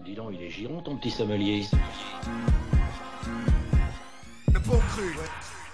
Dis donc, il est giron ton petit sommelier. Le bon cru, ouais.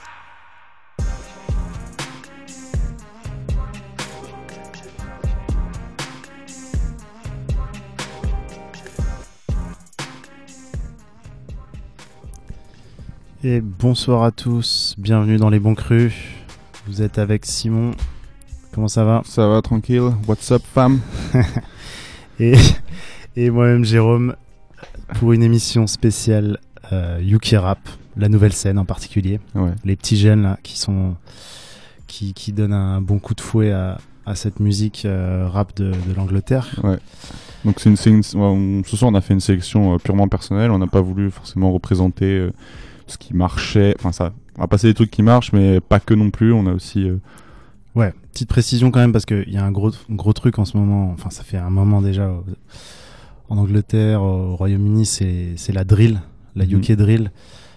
Et bonsoir à tous, bienvenue dans Les Bons Crus. Vous êtes avec Simon. Comment ça va ? Ça va, tranquille. What's up, femme ? et moi-même Jérôme, pour une émission spéciale UK Rap, la nouvelle scène en particulier. Ouais. Les petits jeunes là qui donnent un bon coup de fouet à cette musique rap de l'Angleterre. Ouais. Donc ce soir on a fait une sélection purement personnelle. On n'a pas voulu forcément représenter ce qui marchait. Enfin ça, on va passer des trucs qui marchent, mais pas que non plus. On a aussi Ouais, petite précision quand même, parce qu'il y a un gros truc en ce moment, enfin ça fait un moment déjà en Angleterre, au Royaume-Uni, c'est la drill, la UK drill.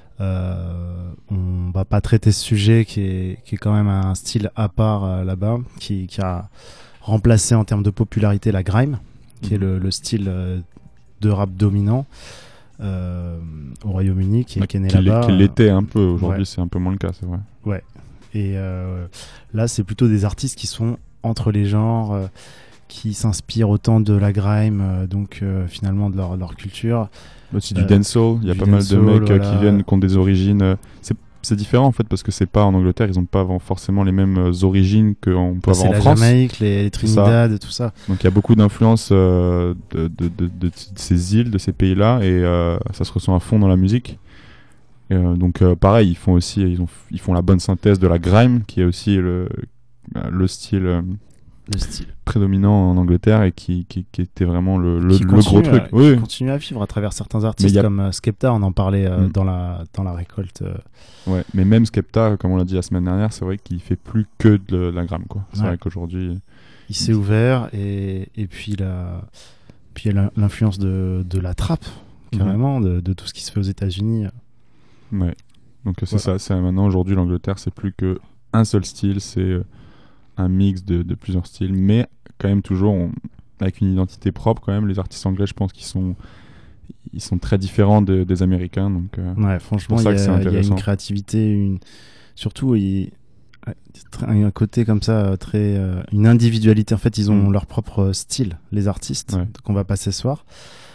On va pas traiter ce sujet qui est quand même un style à part là-bas, qui a remplacé en termes de popularité la grime, qui est le style de rap dominant au Royaume-Uni, qui est né là-bas. Qui l'était un peu, aujourd'hui ouais. C'est un peu moins le cas, c'est vrai. Ouais. Et là, c'est plutôt des artistes qui sont entre les genres, qui s'inspirent autant de la grime, donc finalement de leur culture. Aussi du dancehall, il y a pas mal de mecs qui viennent, qui ont des origines. C'est différent en fait, parce que c'est pas en Angleterre, ils ont pas forcément les mêmes origines qu'on peut avoir en France. C'est la Jamaïque, les Trinidad, tout ça. Donc il y a beaucoup d'influences de ces îles, de ces pays-là, et ça se ressent à fond dans la musique. Donc pareil, ils font la bonne synthèse de la grime, qui est aussi le style prédominant en Angleterre, et qui était vraiment le gros truc. Qui continue à vivre à travers certains artistes comme Skepta, on en parlait dans la récolte. Ouais, mais même Skepta, comme on l'a dit la semaine dernière, c'est vrai qu'il fait plus que de la grime, quoi. C'est vrai qu'aujourd'hui il s'est ouvert, et puis il y a l'influence de la trappe, carrément, de tout ce qui se fait aux États-Unis. Ouais, donc c'est ça. C'est maintenant, aujourd'hui, l'Angleterre, c'est plus que un seul style, c'est un mix de plusieurs styles, mais quand même toujours avec une identité propre. Quand même, les artistes anglais, je pense qu'ils sont très différents des Américains. Donc ouais, franchement, il y a une créativité, surtout un côté comme ça, très une individualité. En fait, ils ont leur propre style, les artistes, qu'on va passer ce soir.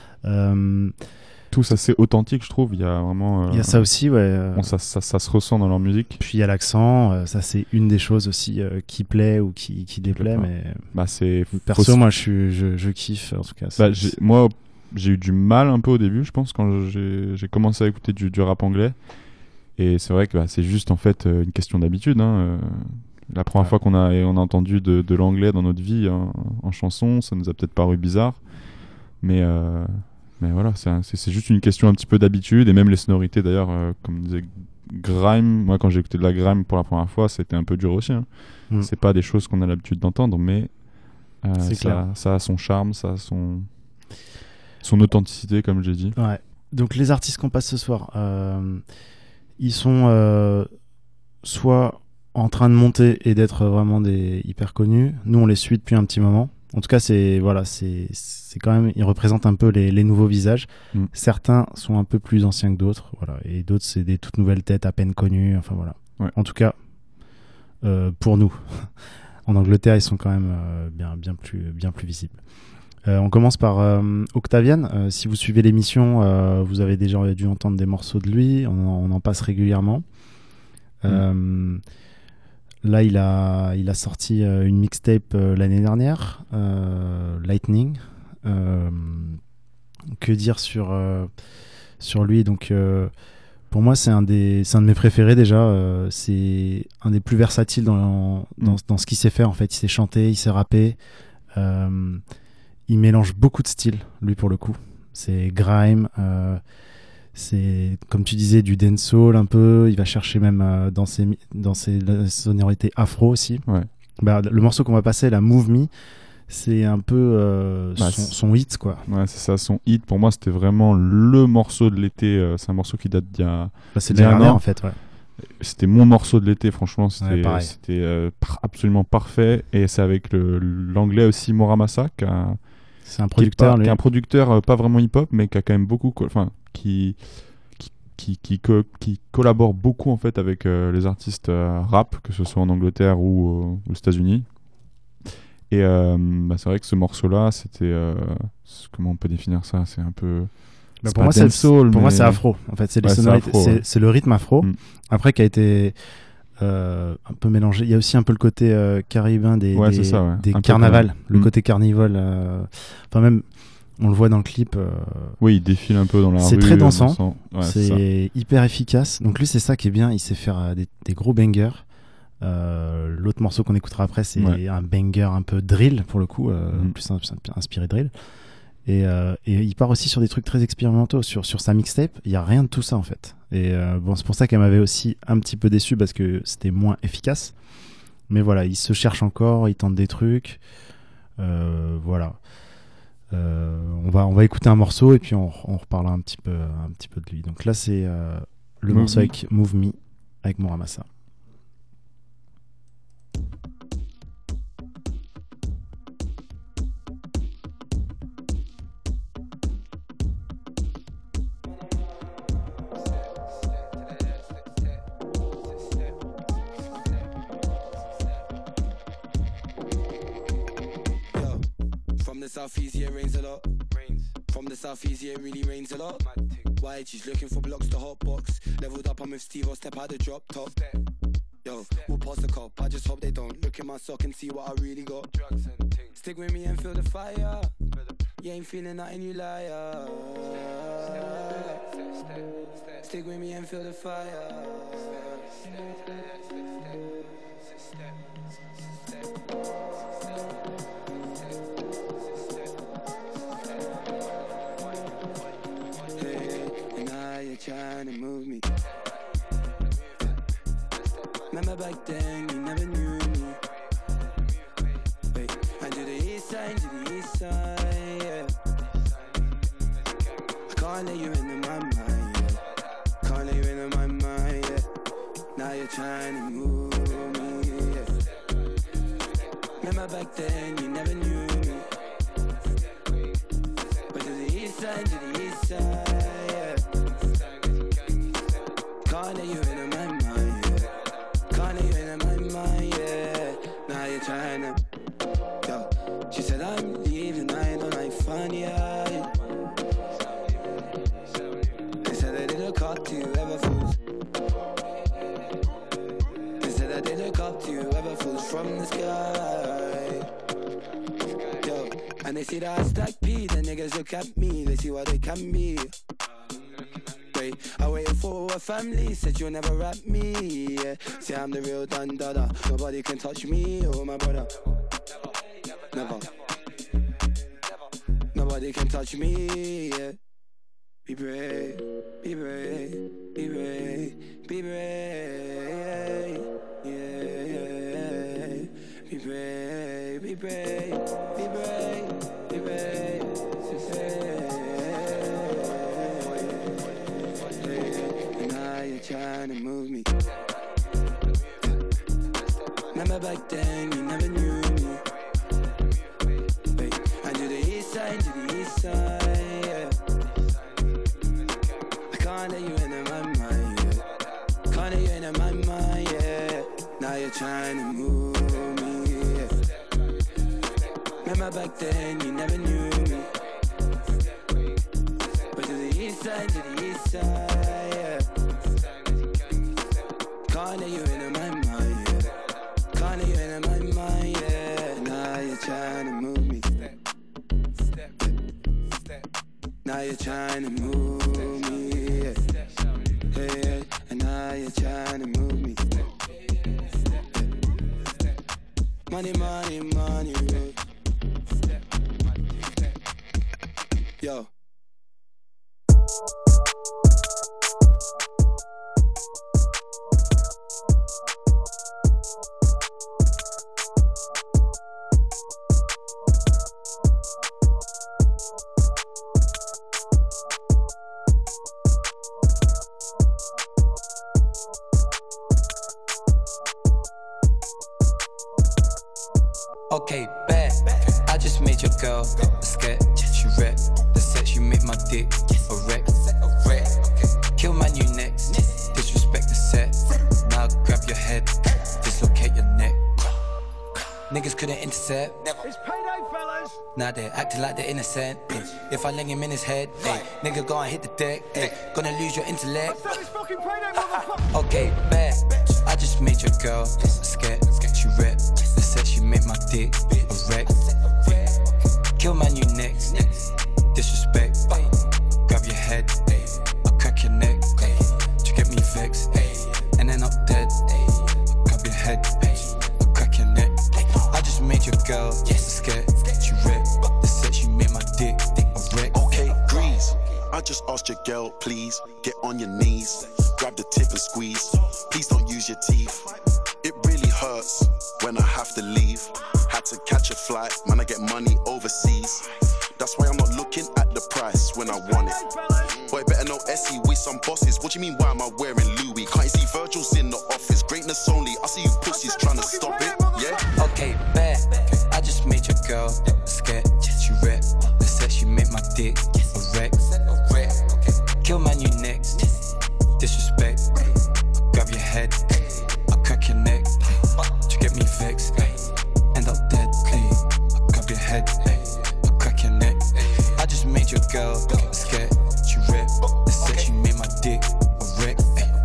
Tous assez authentiques, je trouve. Il y a vraiment. Il y a ça aussi, ouais. Bon, ça se ressent dans leur musique. Puis il y a l'accent, ça c'est une des choses aussi qui plaît ou qui déplaît, mais. Perso, moi je kiffe en tout cas. Moi, j'ai eu du mal un peu au début, je pense, quand j'ai commencé à écouter du rap anglais. Et c'est vrai que c'est juste en fait une question d'habitude. La première fois qu'on a entendu de l'anglais dans notre vie en chanson, ça nous a peut-être paru bizarre, mais voilà, c'est juste une question un petit peu d'habitude. Et même les sonorités d'ailleurs, comme disait grime, moi quand j'ai écouté de la grime pour la première fois, c'était un peu dur aussi. C'est pas des choses qu'on a l'habitude d'entendre, mais ça a son charme, ça a son authenticité, comme j'ai dit. Ouais. Donc les artistes qu'on passe ce soir, ils sont soit en train de monter et d'être vraiment des hyper connus. Nous on les suit depuis un petit moment. En tout cas, c'est quand même, ils représentent un peu les nouveaux visages. Certains sont un peu plus anciens que d'autres, voilà, et d'autres c'est des toutes nouvelles têtes à peine connues. Enfin voilà. Ouais. En tout cas, pour nous, en Angleterre, ils sont quand même bien plus visibles. On commence par Octavian. Si vous suivez l'émission, vous avez déjà dû entendre des morceaux de lui. On en passe régulièrement. Là, il a sorti une mixtape l'année dernière, Lightning. Que dire sur lui ? Donc, pour moi, c'est un de mes préférés déjà. C'est un des plus versatiles dans ce qu'il sait faire. En fait, il sait chanter, il sait rapper. Il mélange beaucoup de styles, lui, pour le coup. C'est grime. C'est, comme tu disais, du dancehall un peu. Il va chercher même dans ses sonorités afro aussi. Ouais. Le morceau qu'on va passer, la Move Me, c'est un peu son hit, quoi. Ouais, c'est ça, son hit. Pour moi, c'était vraiment le morceau de l'été. C'est un morceau qui date d'il y a... c'est dernier, en fait, ouais. C'était mon morceau de l'été, franchement. C'était absolument parfait. Et c'est avec l'anglais aussi, Moramasa, C'est un producteur, qui lui. est un producteur pas vraiment hip-hop, mais qui a quand même beaucoup, enfin, qui collabore beaucoup en fait avec les artistes rap, que ce soit en Angleterre ou aux États-Unis. Et c'est vrai que ce morceau-là, c'était comment on peut définir ça? C'est un peu Pour moi, c'est afro. En fait, c'est les sonorités, afro, ouais. c'est le rythme afro. Après, qui a été un peu mélangé. Il y a aussi un peu le côté caribéen des carnavals, le côté carnival. Enfin, même, on le voit dans le clip. Oui, il défile un peu dans la rue. C'est très dansant. Ouais, c'est hyper efficace. Donc lui, c'est ça qui est bien. Il sait faire des gros bangers. L'autre morceau qu'on écoutera après, c'est un banger un peu drill pour le coup, plus inspiré drill. Et il part aussi sur des trucs très expérimentaux. Sur sa mixtape, il n'y a rien de tout ça en fait. Et c'est pour ça qu'elle m'avait aussi un petit peu déçu parce que c'était moins efficace. Mais voilà, il se cherche encore, il tente des trucs. Voilà. On va écouter un morceau et puis on reparlera un petit peu de lui. Donc là, c'est le morceau avec Move Me avec Muramasa. Southeast, yeah, rains a lot. From the southeast, yeah, it really rains a lot. Why? She's looking for blocks to hot box. Leveled up, I'm with Steve, I'll step out the drop top. Yo, we'll pass the cop. I just hope they don't look in my sock and see what I really got. Stick with me and feel the fire. You ain't feeling nothing, you liar. Stick with me and feel the fire. Trying to move me. Remember back then, you never knew me. Wait, and to the east side, yeah. I can't let you into my mind, yeah. Can't let you into my mind, yeah. Now you're trying to move me, yeah. Remember back then, you never knew me. But to the east side, yeah. Can't let you in my mind, yeah. Can't let you in my mind, yeah. Now you're trying to, yo. She said I'm leaving, I don't like fun, yeah. They said I didn't look up to you, ever fools. They said I didn't look up to you, ever fools from the sky. Yo, and they see that I stack P, the niggas look at me, they see what they can be. I waited for a family, said you'll never rap me, yeah. See I'm the real Dundada, nobody can touch me or my brother. Never. Nobody can touch me, yeah. Be brave, be brave, be brave, be brave, yeah. Be brave, be brave, be brave, be brave, trying to move me. Remember back then, you never knew me. Wait, and to the east side, yeah. I can't let you into my mind, yeah. Can't let you into my mind, yeah. Now you're trying to move me, yeah. Remember back then, you never knew me. But to the east side, yeah. Can't let you in my mind, yeah. Can't let you in my mind, yeah. Now you're trying to move me. Now you're trying to move me, yeah. Hey, and now you're trying to move me. Money, money, money, yo. Okay, bet. I just made your girl a sketch. She rep the sex, you make my dick a wreck. Kill man, you next. Disrespect the set. Now grab your head, dislocate your neck. Niggas couldn't intercept. It's payday, fellas. Now they're acting like they're innocent. If I lay him in his head, nigga go and hit the deck. Gonna lose your intellect. So it's fucking payday, motherfucker. Okay, bet. I just made your girl a sketch. She rep the set, she make my dick a wreck. Kill man, you next. Disrespect. Grab your head, I'll crack your neck. To get me vexed, and then I'm dead. Grab your head, I'll crack your neck. I just made your girl a sketch. She rep the set, she made my dick a wreck. Okay, Grease. I just asked your girl, please get on your knees, grab the tip and squeeze. Please don't use your teeth. It really hurts when I have to leave. Had to catch a flight, man, I get money overseas. That's why I'm not looking at the price when I want it. Boy, better know Essie, we some bosses. What do you mean, why am I wearing Louis? Can't you see Virgil's in the office? Greatness only, I see you pussies trying to stop it, yeah? Okay, bet. I just made your girl a sketch. She rep the set, she make my dick a wreck. Kill man, you next. Disrespect. Grab your head, I'll crack your neck. To get me vexed, end up dead. I'll grab your head, I'll crack your neck. I just made your girl a sketch. She rep the set, she made my dick a wreck.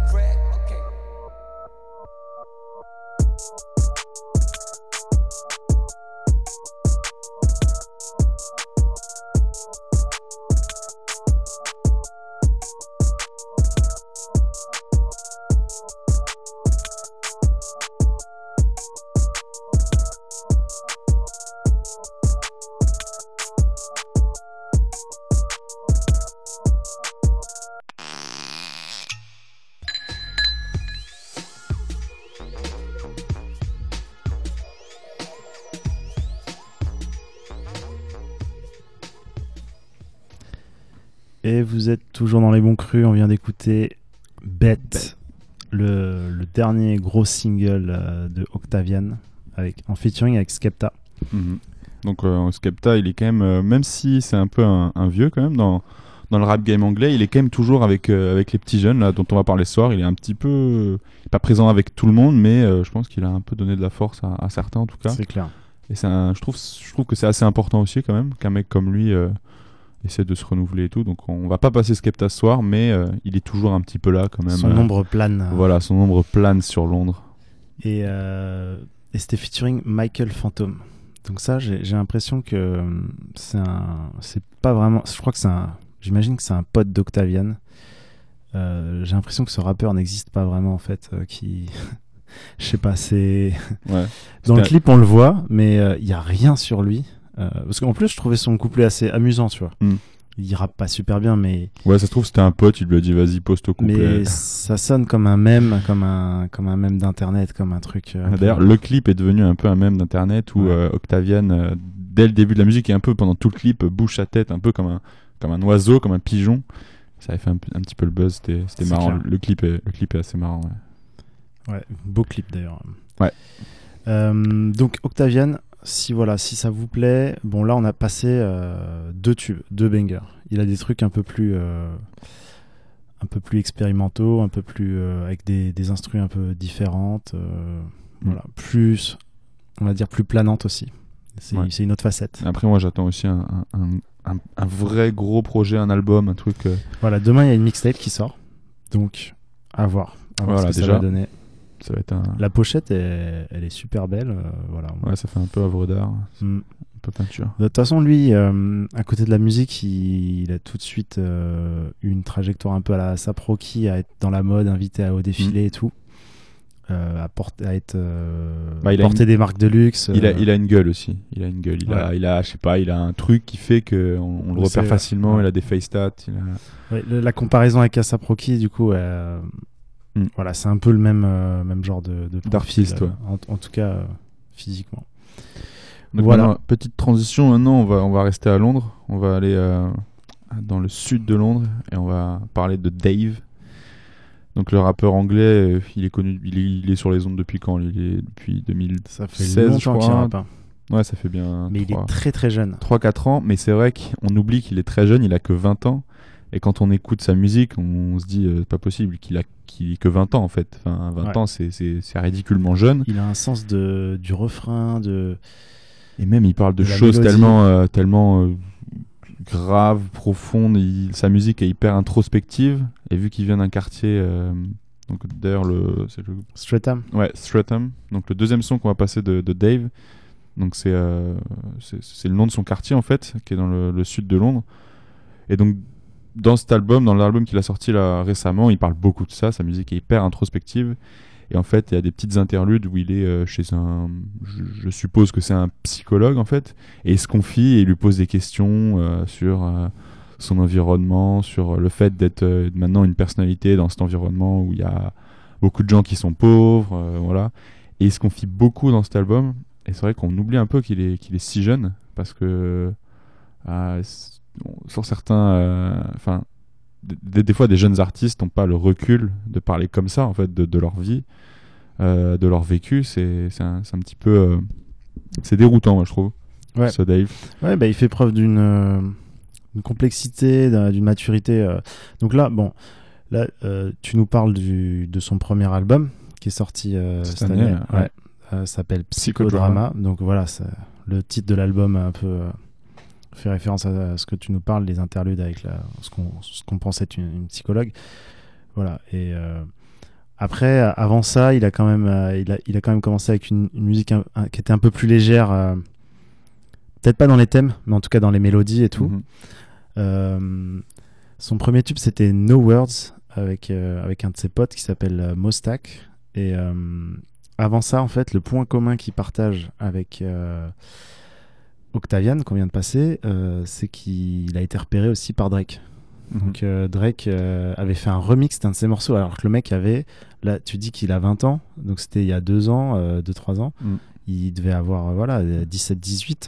Et vous êtes toujours dans les bons crus, on vient d'écouter Bet, le dernier gros single de Octavian, en featuring avec Skepta. Mhm. Donc Skepta, il est quand même si c'est un peu un vieux quand même dans le rap game anglais, il est quand même toujours avec les petits jeunes là, dont on va parler ce soir. Il est un petit peu pas présent avec tout le monde, mais je pense qu'il a un peu donné de la force à certains en tout cas. C'est clair. Et je trouve que c'est assez important aussi quand même qu'un mec comme lui essaie de se renouveler et tout. Donc on va pas passer Skepta ce soir, mais il est toujours un petit peu là quand même. Son ombre plane. Voilà, son ombre plane sur Londres. Et c'était featuring Michael Phantom. Donc ça, j'ai l'impression que c'est pas vraiment. Je crois que j'imagine que c'est un pote d'Octavian. J'ai l'impression que ce rappeur n'existe pas vraiment en fait. Je sais pas, c'est. Ouais. Dans le clip on le voit, mais il y a rien sur lui. Parce qu'en plus je trouvais son couplet assez amusant, tu vois. Il rappe pas super bien, mais ouais, ça se trouve c'était un pote, il lui a dit vas-y poste au couplet. Mais ça sonne comme un mème, comme un mème d'internet, comme un truc. D'ailleurs, le clip est devenu un peu un mème d'internet où Octavian, dès le début de la musique et un peu pendant tout le clip, bouge sa tête un peu comme un oiseau, comme un pigeon. Ça avait fait un petit peu le buzz. C'était marrant. Le clip est assez marrant. Ouais, beau clip d'ailleurs. Ouais. Donc Octavian. Si ça vous plaît, bon là on a passé 2 tubes, 2 bangers. Il a des trucs un peu plus expérimentaux, un peu plus avec des instrus un peu différentes, voilà, plus on va dire plus planantes aussi. C'est une autre facette. Après moi j'attends aussi un vrai gros projet, un album, un truc. Voilà, demain il y a une mixtape qui sort, donc à voir voilà, ce que déjà, ça va donner. Ça va être La pochette, elle est super belle. Voilà. Ouais, ça fait un peu œuvre d'art, un peu peinture. De toute façon, lui, à côté de la musique, il a tout de suite eu une trajectoire un peu à la A$AP Rocky, à être dans la mode, invité au défilé et tout. À porter des marques de luxe. Il a une gueule aussi. Il a une gueule. Il a, je sais pas, il a un truc qui fait qu'on le repère facilement. Il a des face stats. La comparaison avec A$AP Rocky, du coup. Voilà, c'est un peu le même genre de d'artiste, en tout cas physiquement. Donc voilà. Maintenant, petite transition, maintenant on va rester à Londres, on va aller dans le sud de Londres et on va parler de Dave. Donc le rappeur anglais, il est connu, il est sur les ondes depuis quand? Il est depuis 2016, ça fait longtemps je crois. qu'il rappe. Ouais, ça fait bien. Mais il est très très jeune. 3-4 ans, mais c'est vrai qu'on oublie qu'il est très jeune, il a que 20 ans. Et quand on écoute sa musique, on se dit c'est pas possible qu'il ait que 20 ans en fait. Enfin, 20 ans, c'est ridiculement jeune. Il a un sens du refrain, et même il parle de choses tellement graves, profondes. Sa musique est hyper introspective. Et vu qu'il vient d'un quartier, donc d'ailleurs Streatham. Ouais, Streatham. Donc le deuxième son qu'on va passer de Dave. Donc c'est le nom de son quartier en fait, qui est dans le sud de Londres. Et donc dans l'album qu'il a sorti là récemment, il parle beaucoup de ça. Sa musique est hyper introspective. Et en fait, il y a des petites interludes où il est chez je suppose que c'est un psychologue en fait, et il se confie et il lui pose des questions sur son environnement, sur le fait d'être maintenant une personnalité dans cet environnement où il y a beaucoup de gens qui sont pauvres, voilà. Et il se confie beaucoup dans cet album. Et c'est vrai qu'on oublie un peu qu'il est si jeune, parce que sur certains, des fois des jeunes artistes n'ont pas le recul de parler comme ça en fait de leur vie, de leur vécu. C'est un petit peu c'est déroutant, moi je trouve. Ouais. Ce Dave. Ouais, il fait preuve d'une complexité, d'une maturité. Donc là, tu nous parles de son premier album qui est sorti cette année. Ouais. S'appelle Psychodrama. Donc voilà, le titre de l'album a un peu fait référence à ce que tu nous parles, les interludes avec ce qu'on pense être une psychologue. Voilà. Et après, avant ça, il a quand même commencé avec une musique qui était un peu plus légère, peut-être pas dans les thèmes, mais en tout cas dans les mélodies et tout. Son premier tube, c'était No Words avec un de ses potes qui s'appelle Mostak. Et avant ça, en fait, le point commun qu'il partage avec Octavian, qu'on vient de passer, c'est qu'il a été repéré aussi par Drake. Donc Drake avait fait un remix d'un de ses morceaux, alors que le mec là tu dis qu'il a 20 ans, donc c'était il y a 2 ans, 2-3 ans. Il devait avoir 17-18.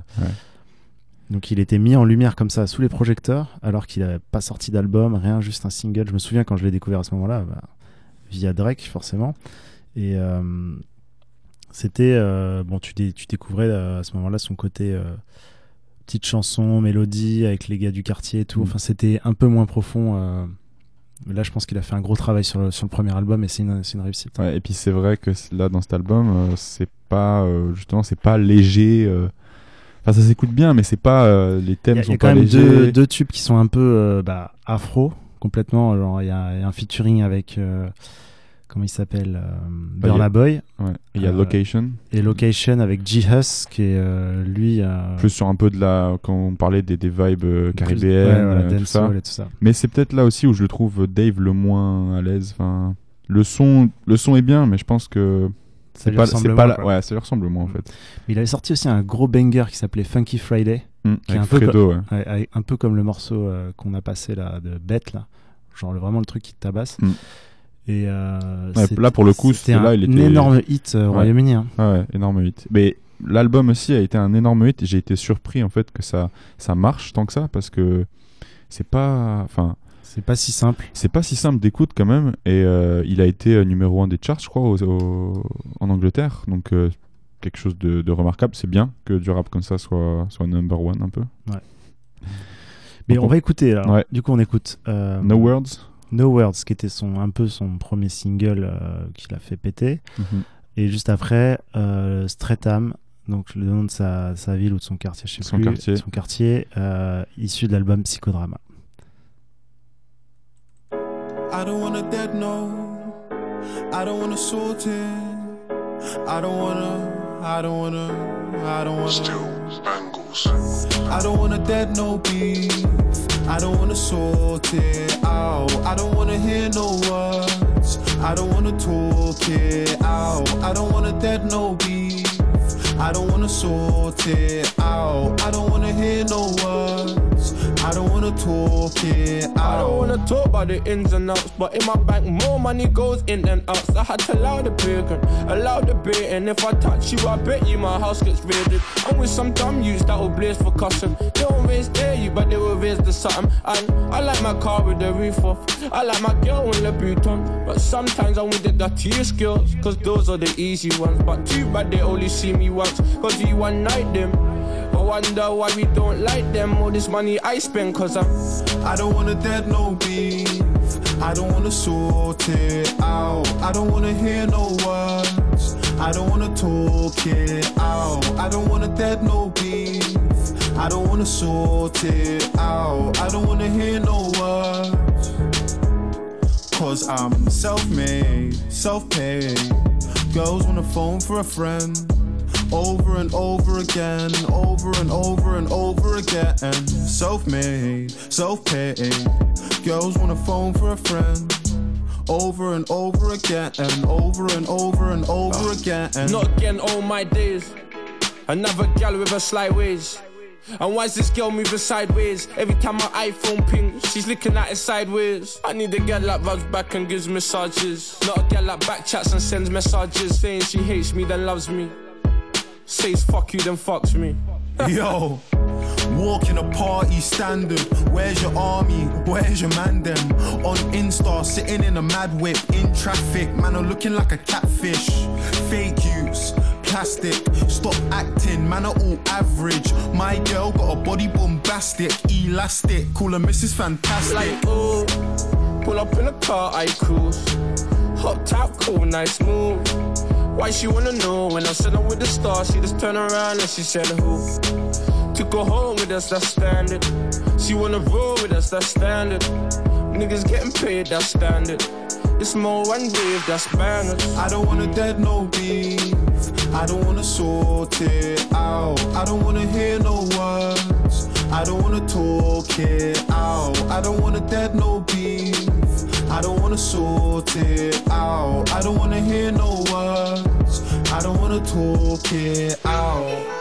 Donc il était mis en lumière comme ça, sous les projecteurs, alors qu'il n'avait pas sorti d'album, rien, juste un single. Je me souviens quand je l'ai découvert à ce moment-là, via Drake forcément. Et c'était tu découvrais à ce moment-là son côté petite chanson, mélodie avec les gars du quartier et tout. Enfin, c'était un peu moins profond. Mais là, je pense qu'il a fait un gros travail sur le premier album et c'est une réussite. Ouais, et puis c'est vrai que là, dans cet album, c'est pas c'est pas léger. Enfin, ça s'écoute bien, mais c'est pas les thèmes sont pas légers. Il y a quand même deux tubes qui sont un peu afro complètement. Genre, il y a un featuring avec comment il s'appelle, Burna Boy. Ouais. Il y a Location. Et Location avec G-Hus, qui est lui... plus sur un peu quand on parlait des vibes caribéennes, tout ça. Et tout ça. Mais c'est peut-être là aussi où je le trouve Dave le moins à l'aise. Enfin, le son est bien, mais je pense que ça lui ressemble moins en fait. Mais il avait sorti aussi un gros banger qui s'appelait Funky Friday, qui est un Fredo, un peu comme le morceau qu'on a passé là, de Bête, là. Genre vraiment le truc qui te tabasse. Et là pour le coup il était un énorme hit au Royaume-Uni. Ouais, énorme hit. Mais l'album aussi a été un énorme hit et j'ai été surpris en fait que ça marche tant que ça, parce que c'est pas si simple. C'est pas si simple d'écoute quand même, et il a été numéro 1 des charts, je crois, en Angleterre. Donc quelque chose de remarquable. C'est bien que du rap comme ça soit number 1 un peu. Ouais. Mais donc on va écouter là. Ouais. Du coup on écoute No Words. No Words, qui était un peu son premier single qu'il a fait péter. Et juste après, Streatham, donc le nom de sa ville ou de son quartier, je sais plus. Son quartier, issu de l'album Psychodrama. I don't wanna dead no, I don't wanna sort it, I don't wanna still bangles. I don't wanna dead no beef, I don't wanna sort it out. I don't wanna hear no words, I don't wanna talk it out. I don't wanna dead no beef, I don't wanna sort it out. I don't wanna hear no words, I I don't wanna talk it out. I don't wanna talk about the ins and outs, but in my bank more money goes in than out. I had to allow the bacon, allow the bait, and if I touch you, I bet you my house gets raided. I'm with some dumb youths that will blaze for custom. They won't raise dare you, but they will raise the something. And I like my car with the roof off. I like my girl in Louboutin, but sometimes I want the dirtier skills, cause those are the easy ones. But too bad they only see me once, cause you one night them. I wonder why we don't like them. All this money I spend, cause I don't wanna dead no beef. I don't wanna sort it out. I don't wanna hear no words. I don't wanna talk it out. I don't wanna dead no beef. I don't wanna sort it out. I don't wanna hear no words. Cause I'm self-made, self-paid. Girls wanna phone for a friend. Over and over again, over and over and over again. Self-made, self-paid. Girls wanna phone for a friend. Over and over again, over and over and over again. Not again, all my days. Another gal with her sly ways. And why's this girl moving sideways? Every time my iPhone pings, she's looking at it sideways. I need a girl that rubs back and gives massages. Not a girl that backchats and sends messages saying she hates me then loves me. Says fuck you then fucks me. Yo, walking a party standard. Where's your army? Where's your man them? On Insta, sitting in a mad whip in traffic. Man, I'm looking like a catfish. Fake use, plastic. Stop acting, man, are all average. My girl got a body bombastic, elastic. Call her Mrs. Fantastic. Like, oh, pull up in a car, I cruise. Hot top, cool, nice move. Why she wanna know when I said I'm with the stars? She just turned around and she said who? To go home with us, that's standard. She wanna roll with us, that's standard. Niggas getting paid, that's standard. It's more one wave, that's bangers. I don't wanna dead no beef. I don't wanna sort it out. I don't wanna hear no words. I don't wanna talk it out. I don't wanna dead no beef. I don't wanna sort it out. I don't wanna hear no words. I don't wanna talk it out.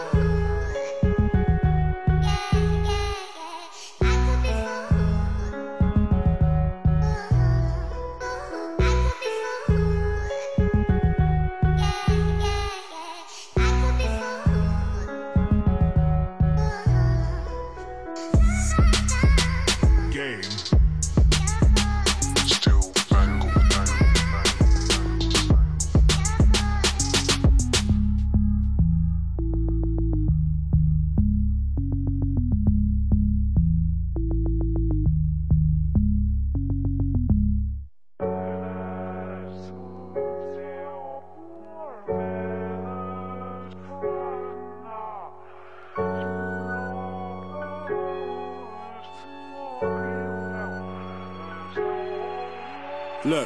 Look,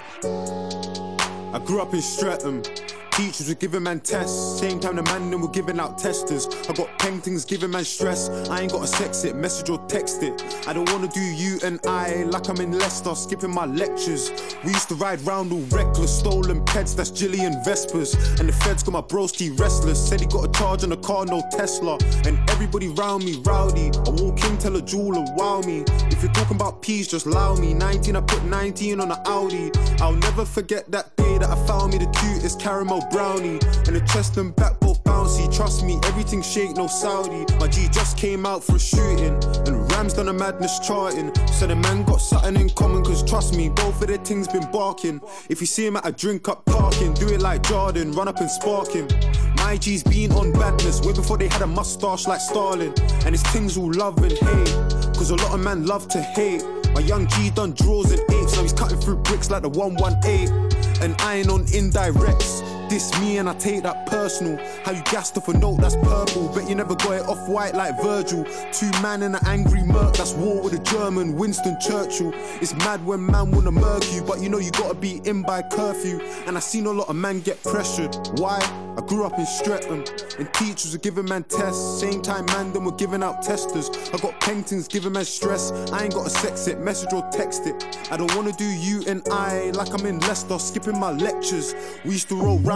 I grew up in Streatham. Teachers were giving man tests. Same time the man them were giving out testers. I got paintings giving man stress. I ain't gotta sex it, message or text it. I don't wanna do you and I like I'm in Leicester, skipping my lectures. We used to ride round all reckless, stolen pets, that's Gillian Vespers. And the feds got my broski restless. Said he got a charge on a car, no Tesla. And everybody round me rowdy. I walk in, tell a jeweler, wow me. If you're talking about peas, just allow me. 19, I put 19 on an Audi. I'll never forget that day that I found me the cutest caramel brownie. And the chest and back both bouncy. Trust me, everything shake, no Saudi. My G just came out for a shooting. And Ram's done a madness charting. So the man got something in common, cause trust me, both of their things been barking. If you see him at a drink up parking, do it like Jordan, run up and spark him. My G's been on badness way before they had a mustache like Stalin. And it's things all love and hate, cause a lot of man love to hate. My young G done draws and apes, now he's cutting through bricks like the 118. And I ain't on indirects. Diss me and I take that personal. How you gassed off a note that's purple, bet you never got it off white like Virgil. Two man in an angry murk, that's war with a German, Winston Churchill. It's mad when man wanna murk you, but you know you gotta be in by curfew. And I seen a lot of man get pressured. Why? I grew up in Streatham, and teachers were giving man tests. Same time man them were giving out testers. I got paintings giving man stress. I ain't gotta sex it, message or text it. I don't wanna do you and I like I'm in Leicester, skipping my lectures. We used to roll round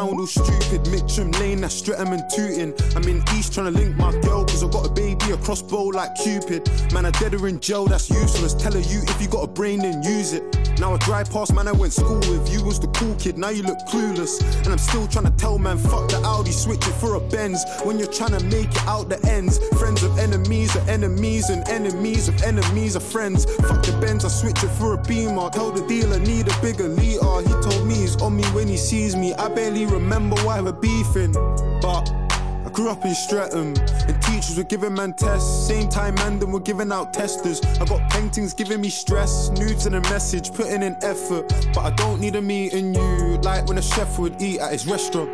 sound all stupid. Mitcham Lane, that's Streatham and Tooting. I'm in East trying to link my girl, cause I got a baby, a crossbow like Cupid. Man, I dead her in jail, that's useless. Tell her you, if you got a brain, then use it. Now I drive past, man, I went school with. You was the cool kid, now you look clueless. And I'm still trying to tell man, fuck the Audi, switch it for a Benz. When you're trying to make it out the ends, friends of enemies are enemies, and enemies of enemies are friends. Fuck the Benz, I switch it for a Beamer. Tell the dealer, need a bigger liter. He told me he's on me when he sees me. I barely remember why we're beefing, but I grew up in Streatham, and teachers were giving man tests. Same time man them were giving out testers. I got paintings giving me stress, nudes and a message, putting in effort. But I don't need a meeting you, like when a chef would eat at his restaurant.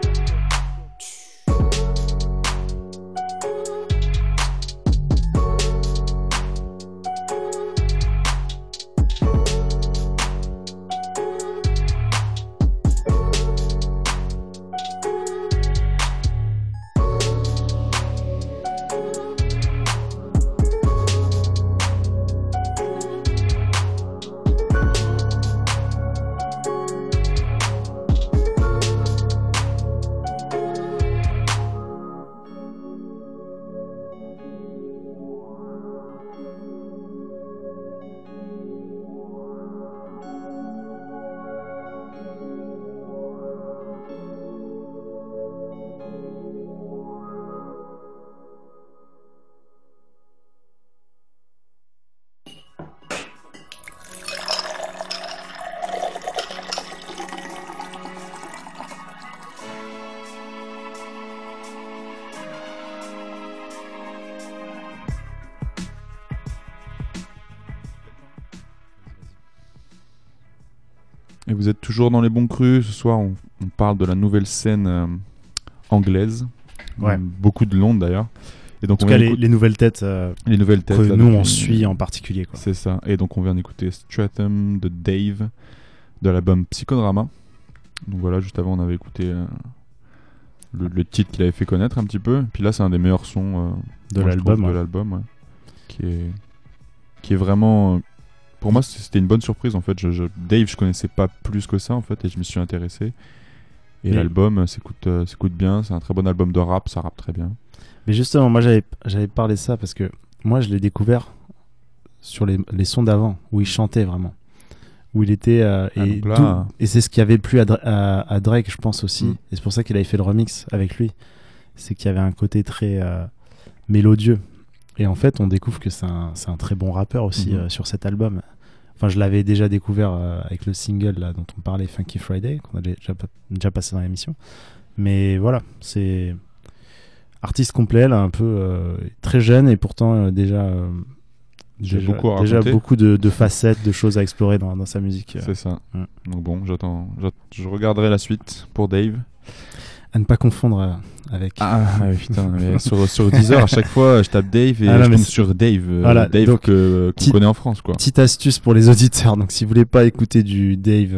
Et vous êtes toujours dans les bons crus. Ce soir, on parle de la nouvelle scène anglaise. Ouais. Beaucoup de Londres d'ailleurs. Et donc, en tout cas, les nouvelles têtes, les nouvelles têtes que là, nous, on suit en particulier. Quoi. C'est ça. Et donc, on vient d'écouter Streatham de Dave de l'album Psychodrama. Donc voilà, juste avant, on avait écouté le titre qu'il avait fait connaître un petit peu. Puis là, c'est un des meilleurs sons de l'album. Ouais. Qui est vraiment... Pour moi, c'était une bonne surprise en fait. Dave, je connaissais pas plus que ça en fait, et je me suis intéressé. Et l'album s'écoute bien. C'est un très bon album de rap, ça rappe très bien. Mais justement, moi j'avais parlé de ça parce que moi je l'ai découvert sur les sons d'avant où il chantait vraiment, où il était et c'est ce qui avait plu à Drake, je pense aussi. Et c'est pour ça qu'il avait fait le remix avec lui. C'est qu'il y avait un côté très mélodieux. Et en fait, on découvre que c'est un très bon rappeur aussi sur cet album. Enfin, je l'avais déjà découvert avec le single là, dont on parlait, Funky Friday, qu'on a déjà passé dans l'émission. Mais voilà, c'est artiste complet, là, un peu très jeune et pourtant déjà beaucoup de facettes, de choses à explorer dans sa musique. C'est ça. Donc bon, je regarderai la suite pour Dave. À ne pas confondre avec... putain, mais sur Deezer, à chaque fois, je tape Dave et je tombe sur Dave. Voilà, Dave donc, qu'on connaît en France, quoi. Petite astuce pour les auditeurs. Donc, si vous voulez pas écouter du Dave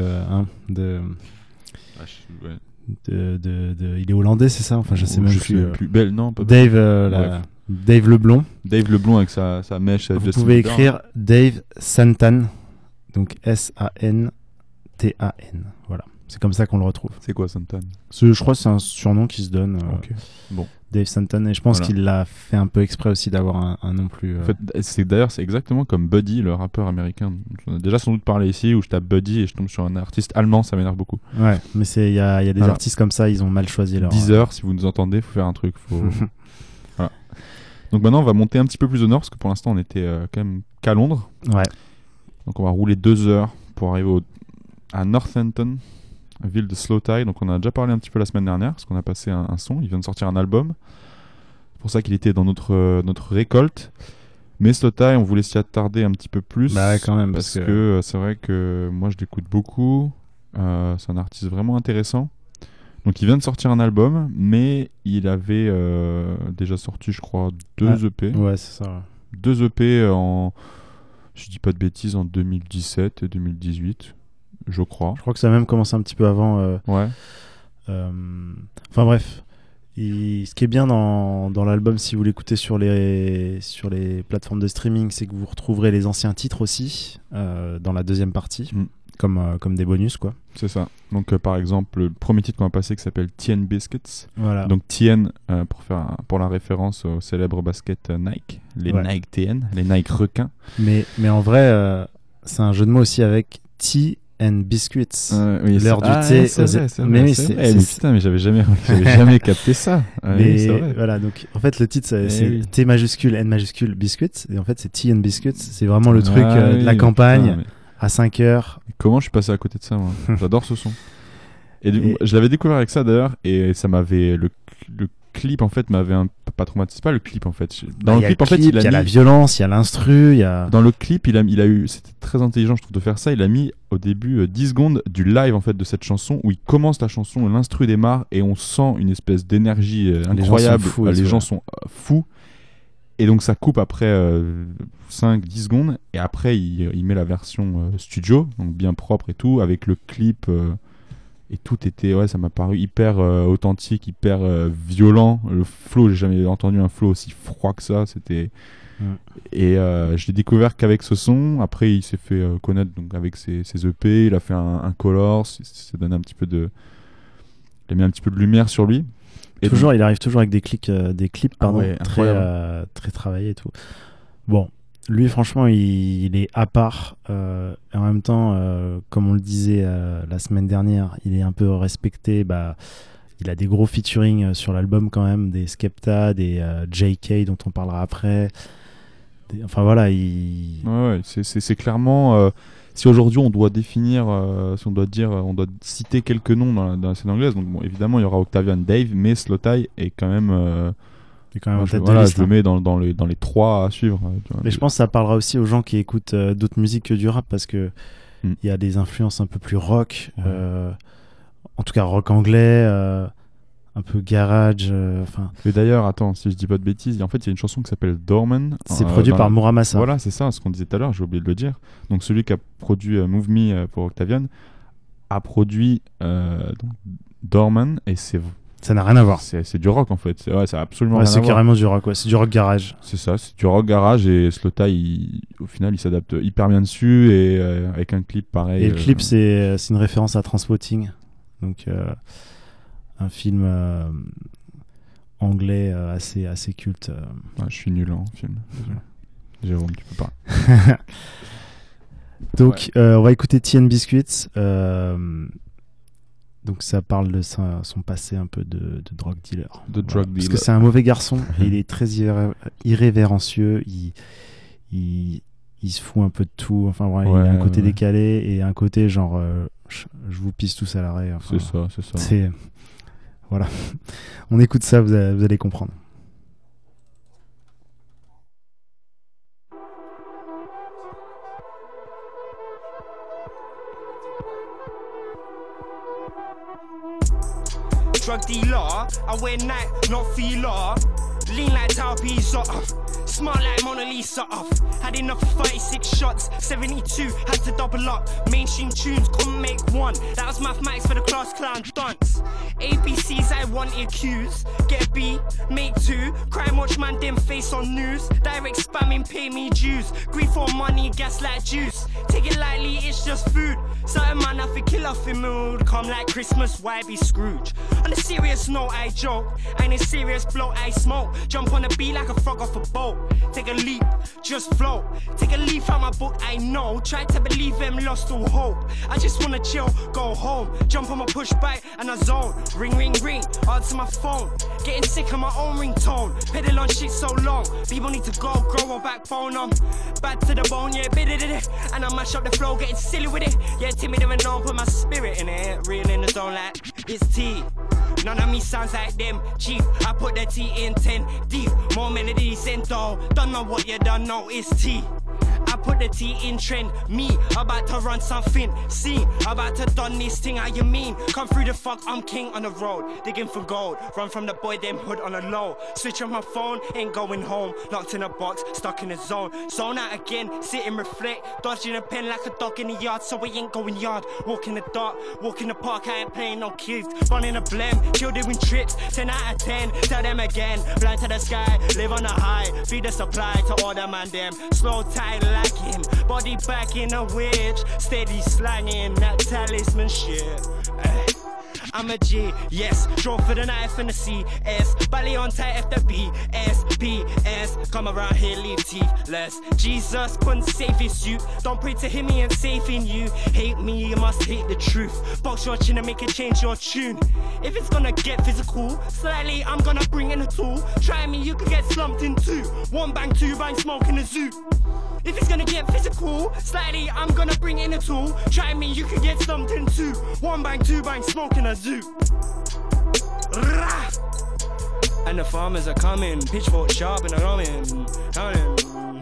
il est hollandais, c'est ça? Enfin, je sais même plus. Belle, non, pas Dave, Dave Leblond. Dave Leblond avec sa mèche. Vous pouvez écrire Dave Santan. Donc Santan. Voilà. C'est comme ça qu'on le retrouve. C'est quoi Santan? Je crois que c'est un surnom qui se donne. Bon. Dave Santan. Et je pense qu'il l'a fait un peu exprès aussi d'avoir un nom plus... En fait, c'est exactement comme Buddy, le rappeur américain. On a déjà sans doute parlé ici, où je tape Buddy et je tombe sur un artiste allemand, ça m'énerve beaucoup. Ouais, mais il y a des artistes comme ça, ils ont mal choisi leur... Deezer, si vous nous entendez, faut faire un truc. Voilà. Donc maintenant, on va monter un petit peu plus au nord, parce que pour l'instant, on était quand même qu'à Londres. Ouais. Donc on va rouler 2 heures pour arriver à Northampton, ville de Slowthai. Donc on a déjà parlé un petit peu la semaine dernière parce qu'on a passé un son, il vient de sortir un album, c'est pour ça qu'il était dans notre récolte. Mais Slowthai, on voulait s'y attarder un petit peu plus quand même, parce que c'est vrai que moi je l'écoute beaucoup, c'est un artiste vraiment intéressant. Donc il vient de sortir un album, mais il avait déjà sorti je crois 2 EP. Ouais, c'est ça. 2 EP en, je dis pas de bêtises, en 2017 et 2018. Je crois que ça a même commencé un petit peu avant. Ouais. Enfin bref, ce qui est bien dans l'album, si vous l'écoutez sur les plateformes de streaming, c'est que vous retrouverez les anciens titres aussi dans la deuxième partie. comme des bonus, quoi. C'est ça. Donc par exemple, le premier titre qu'on va passer qui s'appelle Tien Biscuits. Voilà. Donc Tien, pour la référence au célèbre basket Nike, les Nike TN, les Nike requins. Mais en vrai, c'est un jeu de mots aussi avec Tea and Biscuits. Oui, l'heure du thé. C'est vrai. Mais putain, mais j'avais jamais capté ça. Mais c'est vrai. Voilà, donc en fait le titre c'est T majuscule, N majuscule, Biscuits, et en fait c'est Tea and Biscuits. C'est vraiment le truc de la campagne à 5 heures. Comment je suis passé à côté de ça, moi? J'adore ce son. Et je l'avais découvert avec ça d'ailleurs, et ça m'avait le clip en fait m'avait pas traumatisé, pas le clip en fait. Dans le clip en fait, il y a la violence, il y a l'instru, il y a dans le clip, il a eu, c'était très intelligent je trouve de faire ça, il a mis au début 10 secondes du live en fait de cette chanson où il commence la chanson, l'instru démarre et on sent une espèce d'énergie incroyable, les gens sont fous. Et donc ça coupe après 5-10 secondes et après il met la version studio, donc bien propre et tout, avec le clip et tout était, ça m'a paru hyper authentique, hyper violent. Le flow, j'ai jamais entendu un flow aussi froid que ça, c'était... Et je l'ai découvert qu'avec ce son. Après il s'est fait connaître donc avec ses EP, il a fait un color, ça donne un petit peu de... Il a mis un petit peu de lumière sur lui. Et toujours, il arrive toujours avec des clips très travaillés et tout. Bon, lui franchement il est à part et en même temps comme on le disait la semaine dernière, il est un peu respecté. Il a des gros featuring sur l'album quand même, des Skepta, des JK dont on parlera après. Enfin voilà, c'est clairement si aujourd'hui on doit définir, si on doit dire, on doit citer quelques noms dans la scène anglaise, donc bon, évidemment il y aura Octavian Dave, mais Slowthai est quand même en tête de liste, je le mets dans les 3 à suivre. Mais je pense que ça parlera aussi aux gens qui écoutent d'autres musiques que du rap, parce que il y a des influences un peu plus rock, en tout cas rock anglais, un peu garage. Mais d'ailleurs, attends, si je dis pas de bêtises, en fait, il y a une chanson qui s'appelle Dorman. C'est produit par Muramasa. Voilà, c'est ça, ce qu'on disait tout à l'heure, j'ai oublié de le dire. Donc celui qui a produit Move Me pour Octavian a produit donc, Dorman, et ça n'a rien à voir. C'est du rock en fait. C'est absolument rien à voir. C'est carrément du rock, c'est du rock garage. C'est ça, c'est du rock garage, et Slowthai, au final, il s'adapte hyper bien dessus, et avec un clip pareil. Et le clip, c'est une référence à Trainspotting. Donc un film anglais assez culte. Je suis nul en film. Jérôme, tu peux pas. Donc on va écouter Tea and Biscuits. Donc ça parle de son passé un peu de drug dealer. Parce que c'est un mauvais garçon et il est très irrévérencieux. Il se fout un peu de tout. Enfin il a un côté décalé et un côté genre je vous pisse tous à l'arrêt. Enfin, c'est ça. Voilà. On écoute ça, vous allez comprendre. Drug dealer, I wear Nike, not Fila. Lean like Tao Pizza, smart like Mona Lisa. Had enough of 36 shots, 72, had to double up. Mainstream tunes, couldn't make one. That was mathematics for the class clown dunce. ABCs, I wanted Q's. Get a B, make 2. Crime watch man, them face on news. Direct spamming, pay me dues. Grief for money, gas like juice. Take it lightly, it's just food. Certain man, I feel kill off in mood. Come like Christmas, why be Scrooge? On a serious note, I joke. Ain't a serious blow, I smoke. Jump on the beat like a frog off a boat. Take a leap, just float. Take a leaf out my book, I know. Try to believe them, lost all hope. I just wanna chill, go home. Jump on my push bike and I zone. Ring, ring, ring, answer my phone. Getting sick of my own ringtone. Pedal on shit so long. People need to go, grow a backbone. Bad to the bone, yeah, bit it. And I mash up the flow, getting silly with it. Yeah, timid and known, put my spirit in it. Real in the zone like it's tea. None of me sounds like them, chief. I put the T in 10 deep. More melodies in though. Don't know what you don't know, it's T. I put the T in trend. Me, about to run something. See, about to done this thing. How you mean? Come through the fuck, I'm king on the road. Digging for gold. Run from the boy, them hood on the low. Switch on my phone, ain't going home. Locked in a box, stuck in the zone. Zone out again, sit and reflect. Dodging a pen like a dog in the yard, so we ain't going yard. Walk in the dark, walk in the park, I ain't playing no kids. Running a blem, chill doing trips. 10 out of 10, tell them again. Blind to the sky, live on a high. Feed the supply to all the man them. Slow tide like him. Body Steady back in a witch, steady slanging that talisman shit. I'm a G, yes, draw for the knife and the CS. Bally on tight F the B, S, B, S. Come around here, leave teethless. Jesus couldn't save his youth. Don't pray to him, he ain't saving you. Hate me, you must hate the truth. Box your chin and make it change your tune. If it's gonna get physical, slightly, I'm gonna bring in a tool. Try me, you could get slumped in two. One bang, two bang, smoke in the zoo. If it's gonna get physical, slightly, I'm gonna bring in a tool. Try me, you could get slumped in two. One bang, two bang, smoke in a zoo. Rah! And the farmers are coming, pitchfork sharp and I'm coming.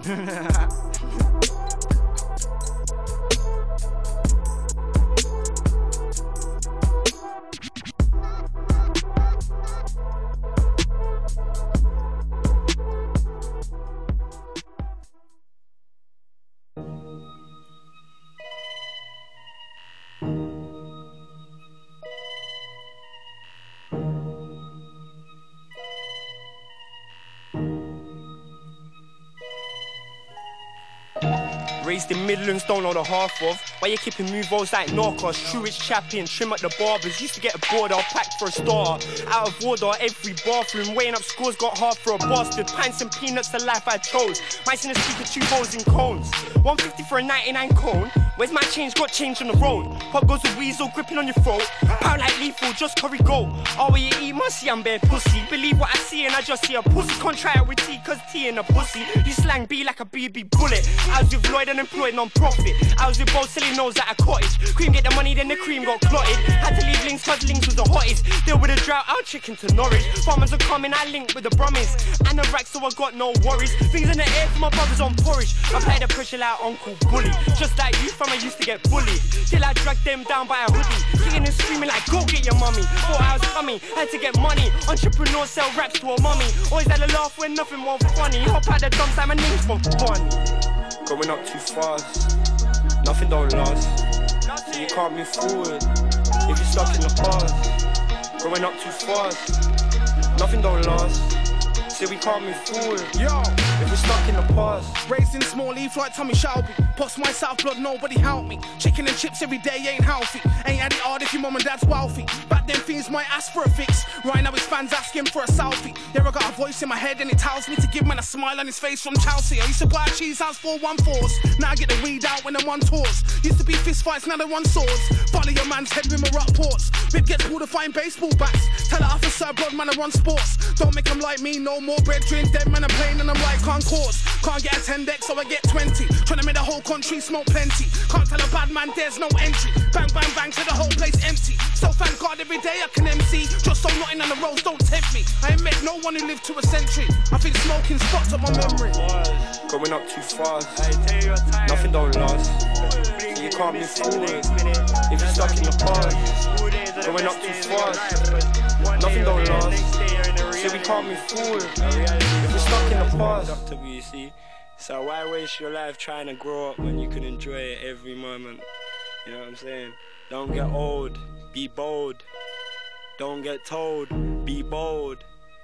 Raised in Midlands, don't know the half of. Why you keeping movos like Narcos? True it's chapping, trim at the barbers. Used to get a board, I'll pack for a star. Out of order, every bathroom. Weighing up scores, got hard for a bastard. Pints and peanuts, the life I chose. Mice in the speaker, 2 bowls in cones. 150 for a 99 cone. Where's my change? Got change on the road. Pop goes a weasel, gripping on your throat. Pound like lethal, just curry gold. Oh, where you eat musty, I'm bare pussy. Believe what I see and I just see a pussy. Can't try it with tea, cause tea in a pussy. You slang B like a BB bullet. I was with Lloyd unemployed, non-profit. I was with both selling nose at a cottage. Cream get the money, then the cream got clotted. Had to leave links cause links was the hottest. Deal with a drought, I'll chicken to Norwich. Farmers are coming, I link with the Brummies. And the rack, so I got no worries. Things in the air for my brothers on porridge. I play the pressure like Uncle Bully. Just like you from I used to get bullied. Till I dragged them down by a hoodie. Kicking and screaming like, go get your mummy. Thought I was coming, had to get money. Entrepreneur sell raps to a mummy. Always had a laugh when nothing more funny. Hop out the dumps like my name's for fun. Going up too fast, nothing don't last. So you can't move forward if you're stuck in the past. Going up too fast, nothing don't last. So we can't move forward, yo, if we're stuck in the past. Raised in small leaf like Tommy Shelby. Post my South blood, nobody help me. Chicken and chips every day ain't healthy. Ain't had it hard if your mum and dad's wealthy. Back then things might ask for a fix. Right now it's fans asking for a selfie. Yeah, I got a voice in my head and it tells me to give man a smile on his face from Chelsea. I used to buy a cheese house for 1/4. Now I get the weed out when I'm on tours. Used to be fist fights, now they run swords. Follow your man's head with my rock ports. Rib gets pulled to find baseball bats. Tell the officer blood man I run sports. Don't make them like me, no more brethren. Dead man I'm playing and I'm like Concourse. Can't get a 10 deck so I get 20. Tryna make the whole country smoke plenty. Can't tell a bad man there's no entry. Bang bang bang till the whole place empty. So thank God every day I can MC. Just so nothing on the roads don't tempt me. I ain't met no one who lived to a century. I think smoking spots up my memory. Going up too fast, nothing don't last. So you can't move forward if you're stuck in the past. Going up too fast, nothing don't last. So we can't move forward if we're stuck in the past. WC. So why waste your life trying to grow up when you can enjoy it every moment? You know what I'm saying? Don't get old, be bold. Don't get told, be bold.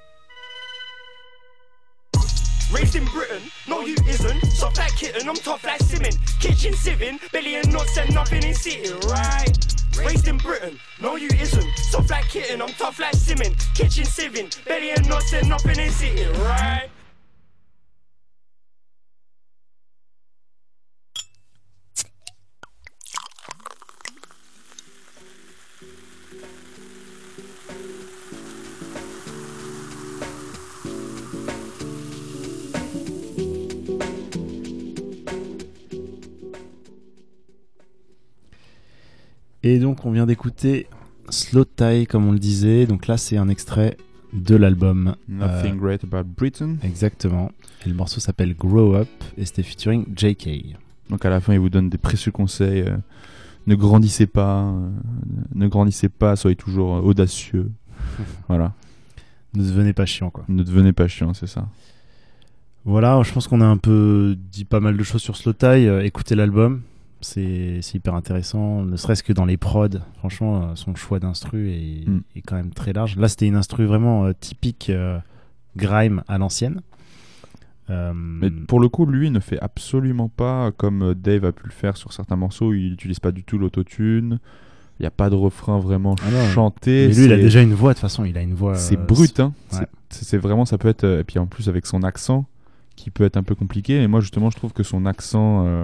Raised in Britain, no you isn't. Soft like kitten, I'm tough like Simmon. Kitchen sieving, belly and nuts and nothing in city, right? Raised in Britain, no you isn't. Soft like kitten, I'm tough like Simmon. Kitchen sieving, belly and nuts and nothing in city, right? Et donc on vient d'écouter Slow Tie comme on le disait. Donc là c'est un extrait de l'album Nothing Great About Britain. Exactement. Et le morceau s'appelle Grow Up et c'était featuring JK. Donc à la fin il vous donne des précieux conseils. Ne grandissez pas, soyez toujours audacieux. Voilà. Ne devenez pas chiant quoi. Ne devenez pas chiant, c'est ça. Voilà, je pense qu'on a un peu dit pas mal de choses sur Slow Tie. Écoutez l'album. C'est hyper intéressant, ne serait-ce que dans les prods. Franchement, son choix d'instru est quand même très large. Là, c'était une instru vraiment typique grime à l'ancienne. Mais pour le coup, lui ne fait absolument pas comme Dave a pu le faire sur certains morceaux. Il n'utilise pas du tout l'autotune. Il n'y a pas de refrain vraiment chanté. Mais lui, il a déjà une voix, de toute façon. Il a une voix. C'est brut, hein. Ouais. C'est vraiment, ça peut être. Et puis en plus, avec son accent, qui peut être un peu compliqué. Et moi, justement, je trouve que son accent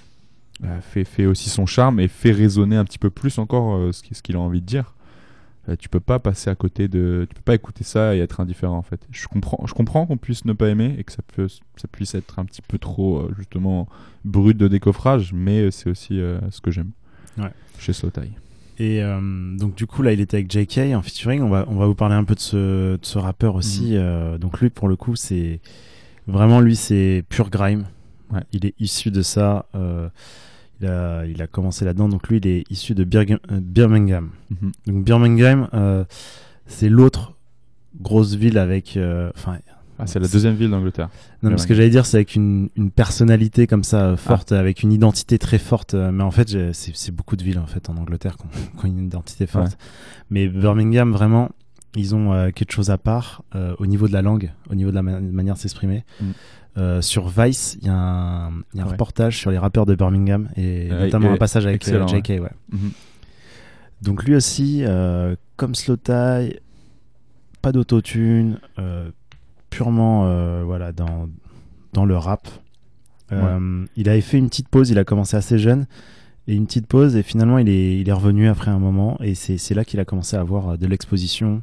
fait aussi son charme et fait résonner un petit peu plus encore ce qu'il a envie de dire. Tu peux pas passer à côté de, tu peux pas écouter ça et être indifférent en fait. Je comprends qu'on puisse ne pas aimer et que ça puisse être un petit peu trop justement brut de décoffrage, mais c'est aussi ce que j'aime chez Slowthai. Et donc du coup là il était avec JK en featuring. On va vous parler un peu de ce rappeur aussi. Donc lui pour le coup c'est vraiment c'est pure grime. Ouais. Il est issu de ça. Il a commencé là-dedans, donc lui il est issu de Birmingham. Donc Birmingham, c'est l'autre grosse ville avec. C'est la deuxième ville d'Angleterre. Non, mais ce que j'allais dire, c'est avec une personnalité comme ça forte, avec une identité très forte. Mais en fait, c'est beaucoup de villes en fait en Angleterre qui ont une identité forte. Ouais. Mais Birmingham, vraiment, ils ont quelque chose à part au niveau de la langue, au niveau de la manière de s'exprimer. Sur Vice, il y a un reportage sur les rappeurs de Birmingham et notamment un passage avec JK. Ouais. Donc lui aussi, comme Slowthai, pas d'autotune, purement dans le rap. Il avait fait une petite pause, il a commencé assez jeune et une petite pause et finalement il est revenu après un moment et c'est là qu'il a commencé à avoir de l'exposition,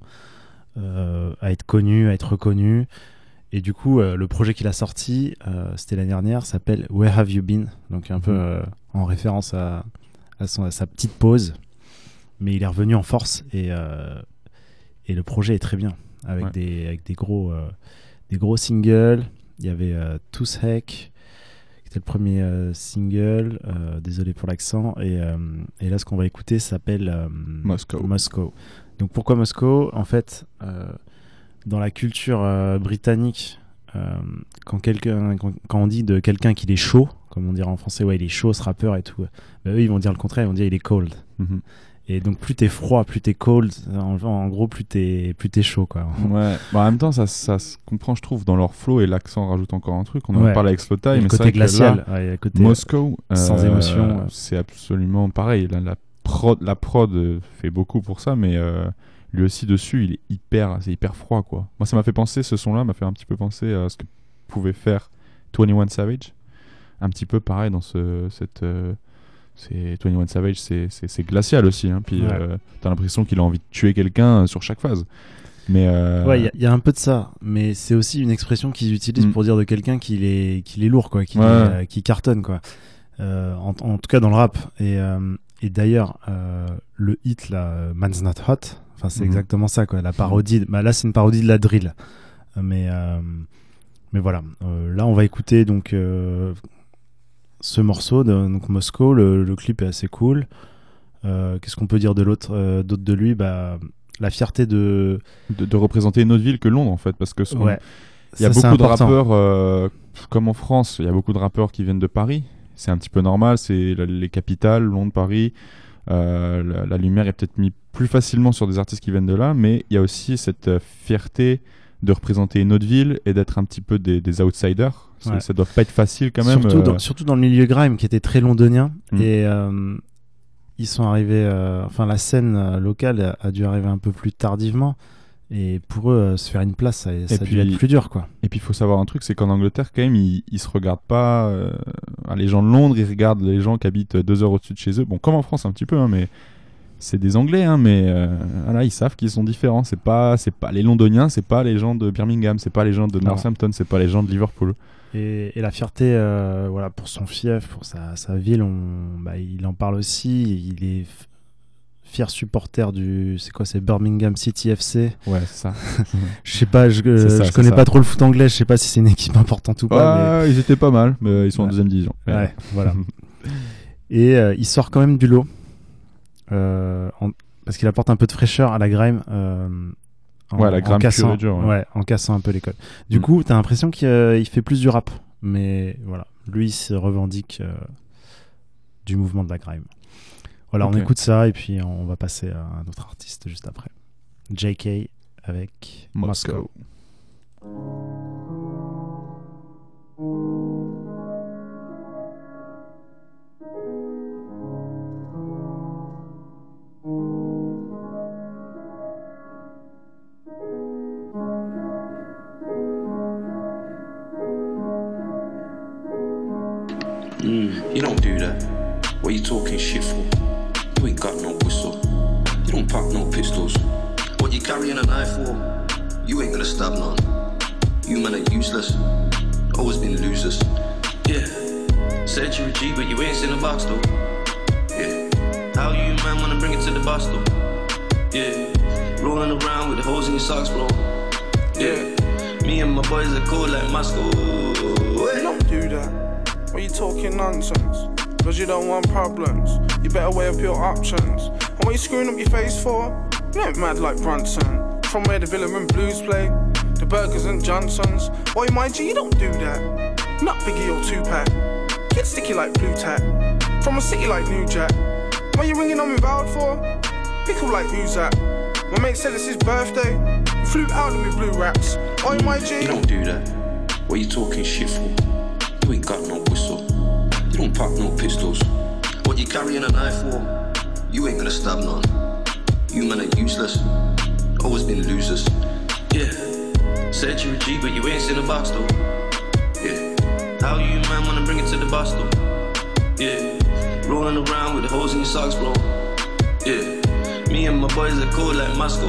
à être connu, à être reconnu. Et du coup, le projet qu'il a sorti, c'était l'année dernière, s'appelle Where Have You Been? Donc un peu en référence à sa petite pause. Mais il est revenu en force et le projet est très bien. Avec des gros singles. Il y avait Tooth Heck, qui était le premier single. Désolé pour l'accent. Et là, ce qu'on va écouter s'appelle Moscow. Donc pourquoi Moscow? En fait... dans la culture britannique, quand on dit de quelqu'un qu'il est chaud, comme on dirait en français, il est chaud ce rappeur et tout, eux ils vont dire le contraire, ils vont dire il est cold. Et donc plus t'es froid, plus t'es cold, en gros plus t'es chaud quoi. Ouais. En même temps ça se comprend je trouve dans leur flow et l'accent rajoute encore un truc. On en parle avec Slowthai, mais c'est vrai glacial, que là, le côté Moscow, sans émotion, c'est absolument pareil. La prod fait beaucoup pour ça, mais lui aussi dessus c'est hyper froid quoi. Moi ça m'a fait penser, ce son là m'a fait un petit peu penser à ce que pouvait faire 21 Savage, un petit peu pareil dans c'est 21 Savage, c'est glacial aussi hein. Puis t'as l'impression qu'il a envie de tuer quelqu'un sur chaque phase, mais il y a un peu de ça, mais c'est aussi une expression qu'ils utilisent pour dire de quelqu'un qu'il est lourd quoi, qui cartonne quoi, en tout cas dans le rap. Et d'ailleurs le hit là, Man's Not Hot, enfin c'est exactement ça quoi, la parodie. Là c'est une parodie de la drill, mais voilà. Là on va écouter donc ce morceau donc Moscow. Le clip est assez cool. Qu'est-ce qu'on peut dire d'autre de lui? La fierté de représenter une autre ville que Londres en fait, parce que il y a beaucoup de rappeurs comme en France, il y a beaucoup de rappeurs qui viennent de Paris. C'est un petit peu normal, c'est les capitales, Londres, Paris. La lumière est peut-être mise plus facilement sur des artistes qui viennent de là, mais il y a aussi cette fierté de représenter une autre ville et d'être un petit peu des outsiders. Ça doit pas être facile quand même. Surtout dans le milieu grime qui était très londonien. Et ils sont arrivés, la scène locale a dû arriver un peu plus tardivement. Et pour eux, se faire une place, ça a dû être plus dur, quoi. Et puis il faut savoir un truc, c'est qu'en Angleterre, quand même, ils se regardent pas. Les gens de Londres, ils regardent les gens qui habitent 2 heures au-dessus de chez eux. Bon, comme en France un petit peu, hein, mais c'est des Anglais, hein, mais ils savent qu'ils sont différents. C'est pas les Londoniens, c'est pas les gens de Birmingham, c'est pas les gens de Northampton, c'est pas les gens de Liverpool. Et la fierté, pour son fief, pour sa ville, il en parle aussi. Il est fier supporter c'est Birmingham City FC. Ouais, c'est ça. Je sais pas, je connais pas trop le foot anglais, je sais pas si c'est une équipe importante ou pas. Mais... Ils étaient pas mal, mais ils sont en 2e division. Ouais, voilà. Et il sort quand même du lot. Parce qu'il apporte un peu de fraîcheur à la grime. La grime pure et dure. En cassant un peu les codes. Du coup, t'as l'impression qu'il fait plus du rap. Mais voilà, lui, il se revendique du mouvement de la grime. Voilà, on écoute ça et puis on va passer à un autre artiste juste après. JK avec Moscow. You don't do that. What you talking shit for? You ain't got no whistle. You don't pop no pistols. What you carrying a knife for? You ain't gonna stab none. You man are useless. Always been losers. Yeah. Said you're a G, but you ain't seen a box though. Yeah. How you man wanna bring it to the boss though? Yeah. Rolling around with the holes in your socks, bro. Yeah. Me and my boys are cool like Moscow. You don't do that. What you talking nonsense? Cause you don't want problems. You better weigh up your options. And what you screwing up your face for? You ain't mad like Bronson. From where the Villa and Blues play, the Burgers and Johnsons. Oi, my G, you don't do that. Not Biggie or Tupac. Get sticky like Blue Tack. From a city like New Jack. What you ringing on me vowed for? Pickle like who's that? My mate said it's his birthday. You flew out of me blue rats. Oi, my G. You don't do that. What you talking shit for? You ain't got no whistle. You don't pop no pistols. What you carrying a knife for? You ain't gonna stab none. You man are useless. Always been losers. Yeah. Said you're a G, but you ain't seen a box though. Yeah. How you man wanna bring it to the boss though? Yeah. Rolling around with the holes in your socks, bro. Yeah. Me and my boys are cool like Moscow.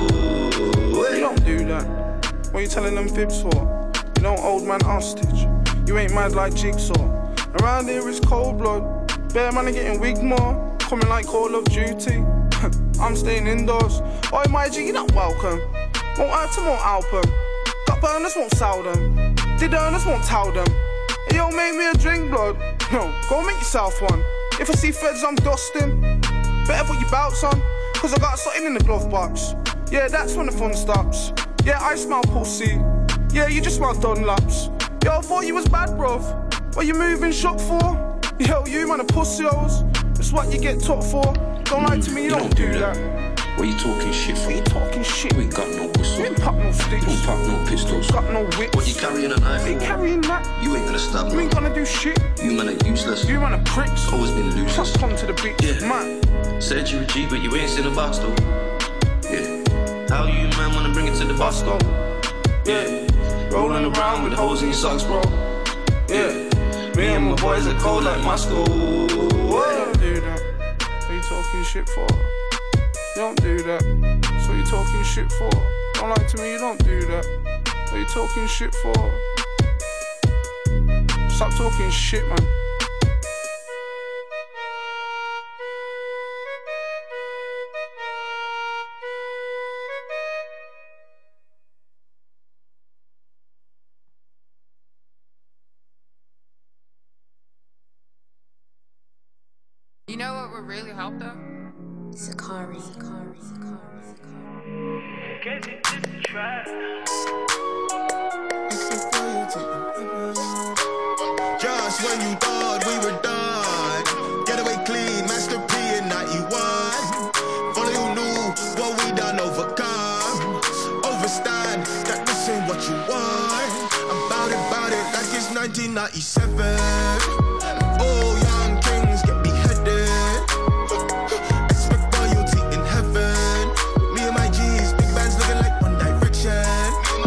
You don't do that. What you telling them fibs for? You don't old man hostage. You ain't mad like Jigsaw. Around here it's cold blood. Bare man are getting wigged more. Coming like Call of Duty. I'm staying indoors. Oi, my G, you're not welcome. Won't hurt them, won't help them. Got burners, won't sell them. Did earners, won't tell them. Hey, yo, make me a drink, blood. No, go make yourself one. If I see feds, I'm dusting. Better put your bouts on, cause I got something in the glove box. Yeah, that's when the fun stops. Yeah, I smell pussy. Yeah, you just smell Dunlops. Yo, I thought you was bad, bruv. What you moving shop for? Yo, you man a pussy-os. That's what you get taught for. Don't lie to me, you don't do that. What you talking shit for? What you talking shit? You ain't got no whistle. You ain't pop no sticks. You don't pop no pistols. Got no whips. What you carrying a knife for? You carrying that? You ain't gonna stab You ain't gonna do shit. You man are useless. You man are pricks. Always been losers. Come to the beach, yeah. Man. Said you're a G, but you ain't seen a box though. Yeah. How you man wanna bring it to the boss though? Yeah. Rolling around with the holes in your socks, bro. Yeah. Me and my boys are cold like Moscow. You don't do that. What you talking shit for? You don't do that. So you talking shit for? Don't lie to me, you don't do that. What you talking shit for? Stop talking shit, man. You know what would really help them? Sakari. Get it to the track. Just when you thought we were done, get away clean, Master P in 91. Only who knew what we done overcome. Overstand that this ain't what you want. About it like it's 1997. Oh, young kings get beheaded. Expect royalty in heaven. Me and my G's, big bands looking like One Direction.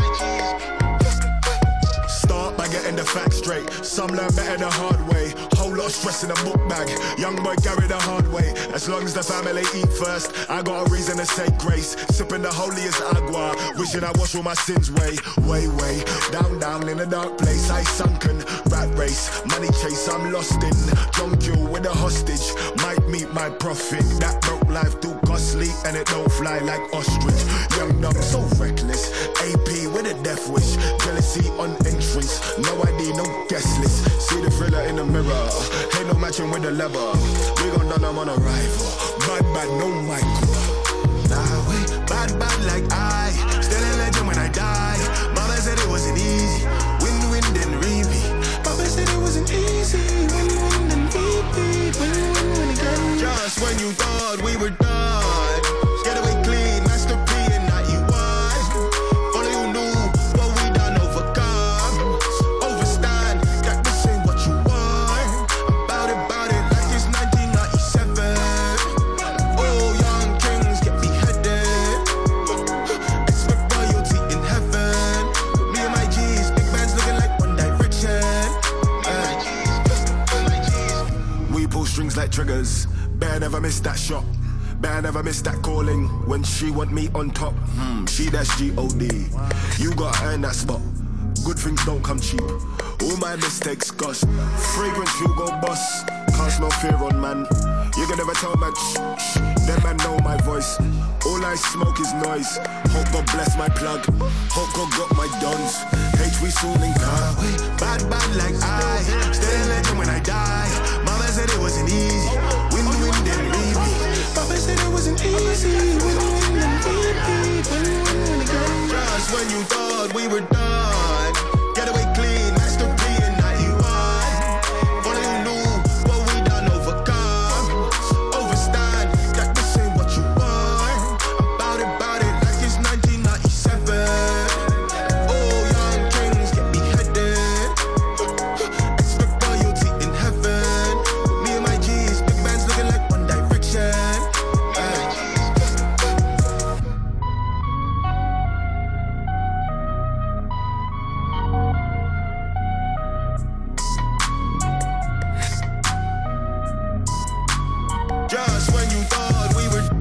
Start by getting the facts straight. Some learn better the hard way. Whole lot of stress in a book bag. Young boy carry the hard way. As long as the family eat first, I got a reason to say grace. Sipping the holiest agua, wishing I wash all my sins way. Down in a dark place. I sunken, rat race, money chase. I'm lost in drunk you with a hostage. Might meet my prophet. That broke life too costly, and it don't fly like ostrich. Young dumb, so reckless. AP with a death wish. Jealousy on entrance. No ID, no guest list. See the thriller in the mirror. Ain't no matching with the lever. We gon' done them on arrival. Bad, no Michael. Nah, wait, bad like I. Still a legend when I die. Mama said it wasn't easy. Win, then repeat. Papa said it wasn't easy. Win, then repeat. Win again. Just when you thought we were done, get away clean, Master P in 91. Only who knew what we done overcome. Overstand that this ain't what you want. About it like it's 1997. Oh, young kings get beheaded. Expect royalty in heaven. Me and my G's, big bands looking like One Direction. We like triggers. Better never miss that shot. Better never miss that calling. When she want me on top, she that's G-O-D. You gotta earn that spot. Good things don't come cheap. All my mistakes cost. Fragrance you go bust. Can't smell fear on man. You can never tell man shh. Them man know my voice. All I smoke is noise. Hope God bless my plug. Hope God got my dons. H we soon in car. Bad like I. Stay legend when I die. Mama said it wasn't easy. Win then leave me. Papa said it wasn't easy. Win then repeat. Win again. Just when you thought we were done. Get away clean. Master P in 91. Only you knew what we done overcome. Overstand that this ain't what you want. About it like it's 1997. Oh, young kings get beheaded. Expect royalty in heaven. Me and my G's, big man's looking like One Direction. Just when you thought we were.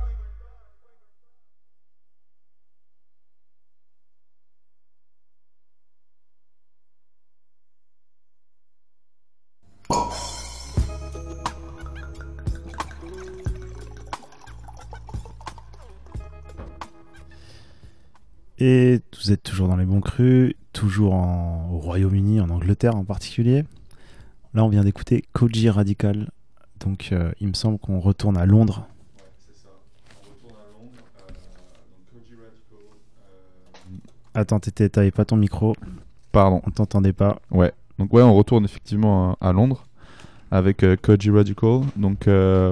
Et vous êtes toujours dans les bons crus, toujours au Royaume-Uni, en Angleterre en particulier. Là, on vient d'écouter Koji Radical. Donc, il me semble qu'on retourne à Londres. Ouais, c'est ça. On retourne à Londres. Donc, Koji Radical. Attends, t'avais pas ton micro. Pardon. On t'entendait pas. Ouais. Donc, ouais, on retourne effectivement à Londres avec Koji Radical. Donc,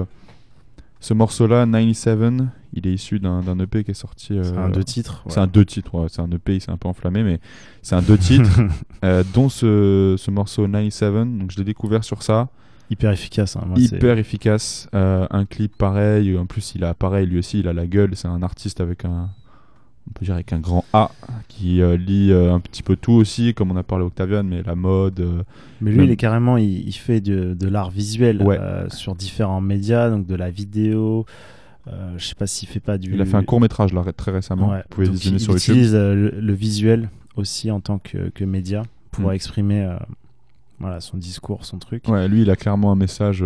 ce morceau-là, 97, il est issu d'un EP qui est sorti. C'est un 2 titres. Ouais. C'est un 2 titres, ouais. C'est un EP, il s'est un peu enflammé, mais c'est un 2 titres, dont ce morceau 97. Donc, je l'ai découvert sur ça. Hyper efficace. Hein. Moi, efficace. Un clip pareil. En plus, il a pareil, lui aussi, il a la gueule. C'est un artiste avec on peut dire avec un grand A qui lit un petit peu tout aussi, comme on a parlé Octavian, mais la mode. Mais lui, il est carrément, il fait de l'art visuel sur différents médias, donc de la vidéo. Je sais pas s'il fait pas du. Il a fait un court métrage là très récemment. Ouais. Vous pouvez visionner sur YouTube. Il utilise le visuel aussi en tant que média pour exprimer son discours, son truc. Ouais, lui, il a clairement un message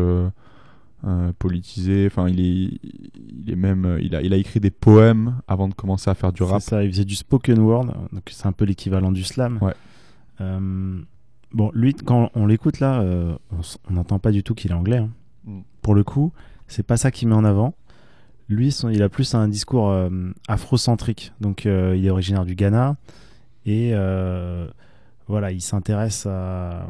politisé. Enfin, il est même, il a écrit des poèmes avant de commencer à faire du rap. C'est ça, il faisait du spoken word, donc c'est un peu l'équivalent du slam. Ouais. Bon, lui, quand on l'écoute là, on n'entend pas du tout qu'il est anglais. Hein. Pour le coup, c'est pas ça qu'il met en avant. Lui, il a plus un discours afrocentrique. Donc, il est originaire du Ghana et voilà, il s'intéresse à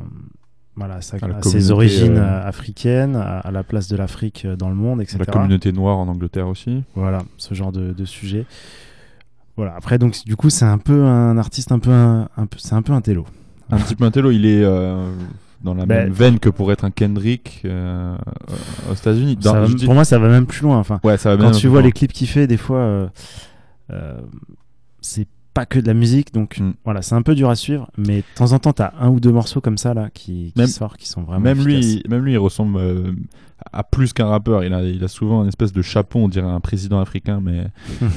ses origines africaines, à la place de l'Afrique dans le monde, etc. La communauté noire en Angleterre aussi. Voilà, ce genre de sujet. Voilà. Après, donc, du coup, c'est un peu un artiste c'est un peu un télo. Un petit peu un télo. Il est dans la même veine que pour être un Kendrick aux États-Unis. Pour moi, ça va même plus loin. Enfin, ouais, ça va quand tu vois les clips qu'il fait, des fois, c'est pas que de la musique, donc voilà, c'est un peu dur à suivre, mais de temps en temps t'as un ou deux morceaux comme ça là qui sortent, qui sont vraiment efficaces. Même lui il ressemble à plus qu'un rappeur. Il a souvent une espèce de chapeau, on dirait un président africain, mais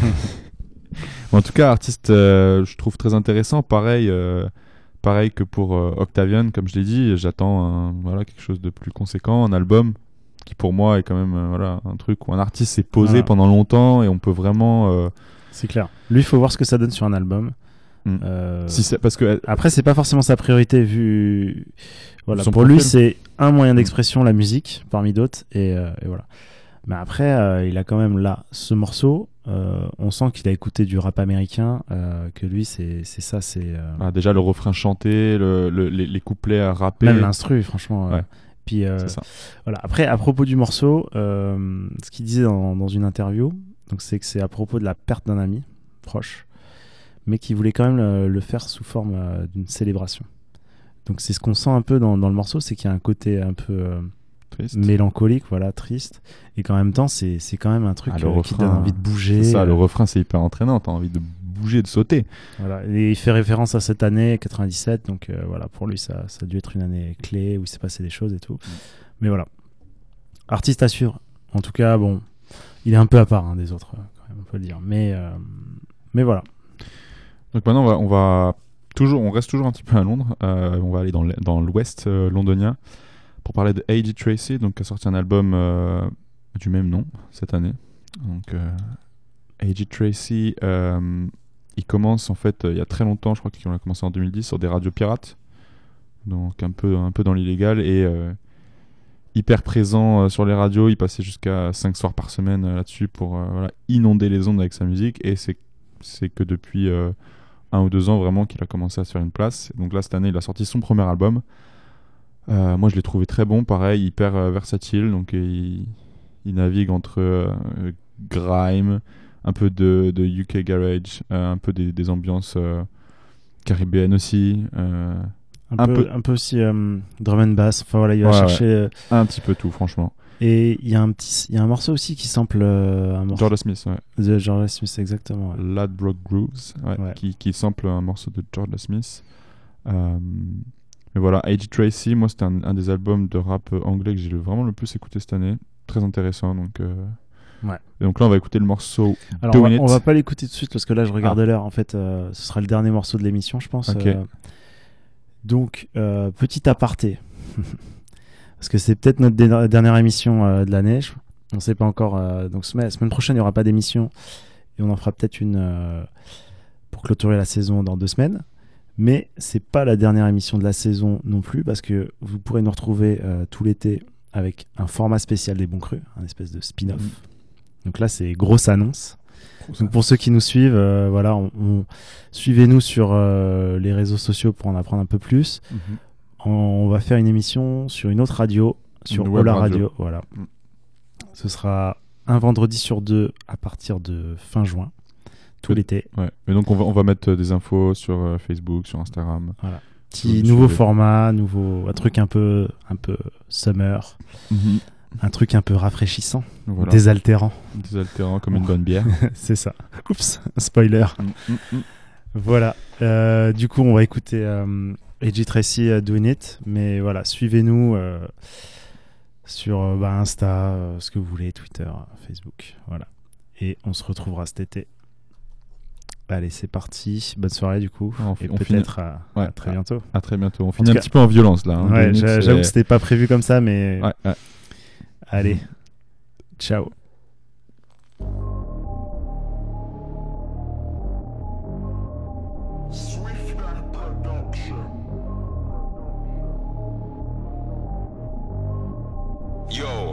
en tout cas artiste je trouve très intéressant. Pareil que pour Octavian, comme je l'ai dit, j'attends quelque chose de plus conséquent, un album qui pour moi est quand même un truc où un artiste s'est posé pendant longtemps et on peut vraiment c'est clair. Lui, il faut voir ce que ça donne sur un album. Parce que après, c'est pas forcément sa priorité vu. Voilà, pour lui, c'est un moyen d'expression, la musique, parmi d'autres, et voilà. Mais après, il a quand même là ce morceau. On sent qu'il a écouté du rap américain, que lui, c'est ça, c'est. Déjà le refrain chanté, les couplets à rapper. Même l'instru, franchement. Ouais. Puis voilà. Après, à propos du morceau, ce qu'il disait dans une interview. Donc c'est que c'est à propos de la perte d'un ami proche, mais qui voulait quand même le faire sous forme d'une célébration. Donc c'est ce qu'on sent un peu dans le morceau, c'est qu'il y a un côté un peu mélancolique, voilà, triste, et qu'en même temps c'est quand même un truc qui donne envie de bouger. C'est ça, le refrain c'est hyper entraînant, t'as envie de bouger, de sauter. Voilà, et il fait référence à cette année 97, donc voilà, pour lui ça a dû être une année clé où il s'est passé des choses et tout. Mais voilà. artiste à suivre. En tout cas, bon, il est un peu à part des autres, quand même, on peut le dire. Mais voilà. Donc maintenant, on reste toujours un petit peu à Londres. On va aller dans l'ouest londonien pour parler de A.J. Tracey, donc qui a sorti un album du même nom cette année. Donc A.J. Tracey, il commence en fait il y a très longtemps, je crois qu'il a commencé en 2010 sur des radios pirates, donc un peu dans l'illégal, et hyper présent sur les radios. Il passait jusqu'à 5 soirs par semaine là-dessus pour inonder les ondes avec sa musique, et c'est que depuis 1 ou 2 ans vraiment qu'il a commencé à se faire une place. Donc là, cette année, il a sorti son premier album. Moi, je l'ai trouvé très bon, pareil, hyper versatile. Donc il navigue entre grime, un peu de UK garage, un peu des ambiances caribéennes aussi. Un peu aussi drum and bass. Enfin voilà, il va chercher un petit peu tout, franchement. Et il y a un morceau aussi qui sample Jordan Smith, ouais. De Jordan Smith, exactement. Ouais. Ladbroke Grooves, qui sample un morceau de Jordan Smith. Mais voilà, A.J. Tracey, moi c'était un des albums de rap anglais que j'ai vraiment le plus écouté cette année. Très intéressant, donc. Et donc là, on va écouter le morceau. Alors on va pas l'écouter tout de suite parce que là, je regarde l'heure. En fait, ce sera le dernier morceau de l'émission, je pense. Okay. Donc, petit aparté. Parce que c'est peut-être notre dernière émission de l'année. On ne sait pas encore. Donc, semaine prochaine, il n'y aura pas d'émission. Et on en fera peut-être une pour clôturer la saison dans 2 semaines. Mais c'est pas la dernière émission de la saison non plus. Parce que vous pourrez nous retrouver tout l'été avec un format spécial des Bons Crus, un espèce de spin-off. Donc là, c'est grosse annonce. Donc pour ceux qui nous suivent, suivez-nous sur les réseaux sociaux pour en apprendre un peu plus. On va faire une émission sur une autre radio, sur Ola Radio. Voilà. Ce sera un vendredi sur 2 à partir de fin juin, tout l'été. Ouais. Mais donc on va mettre des infos sur Facebook, sur Instagram. Voilà. Petit nouveau format, un truc un peu summer. Un truc un peu rafraîchissant, désaltérant. Désaltérant comme une bonne bière. C'est ça. Oups, spoiler. Voilà. Du coup, on va écouter A.J. Tracey Doing It. Mais voilà, suivez-nous sur Insta, ce que vous voulez, Twitter, Facebook. Voilà. Et on se retrouvera cet été. Allez, c'est parti. Bonne soirée du coup. Et peut-être à très bientôt. À très bientôt. On finit un petit peu en violence là. Ouais, j'avoue que c'était pas prévu comme ça, mais... Ouais. Allez, ciao. Yo.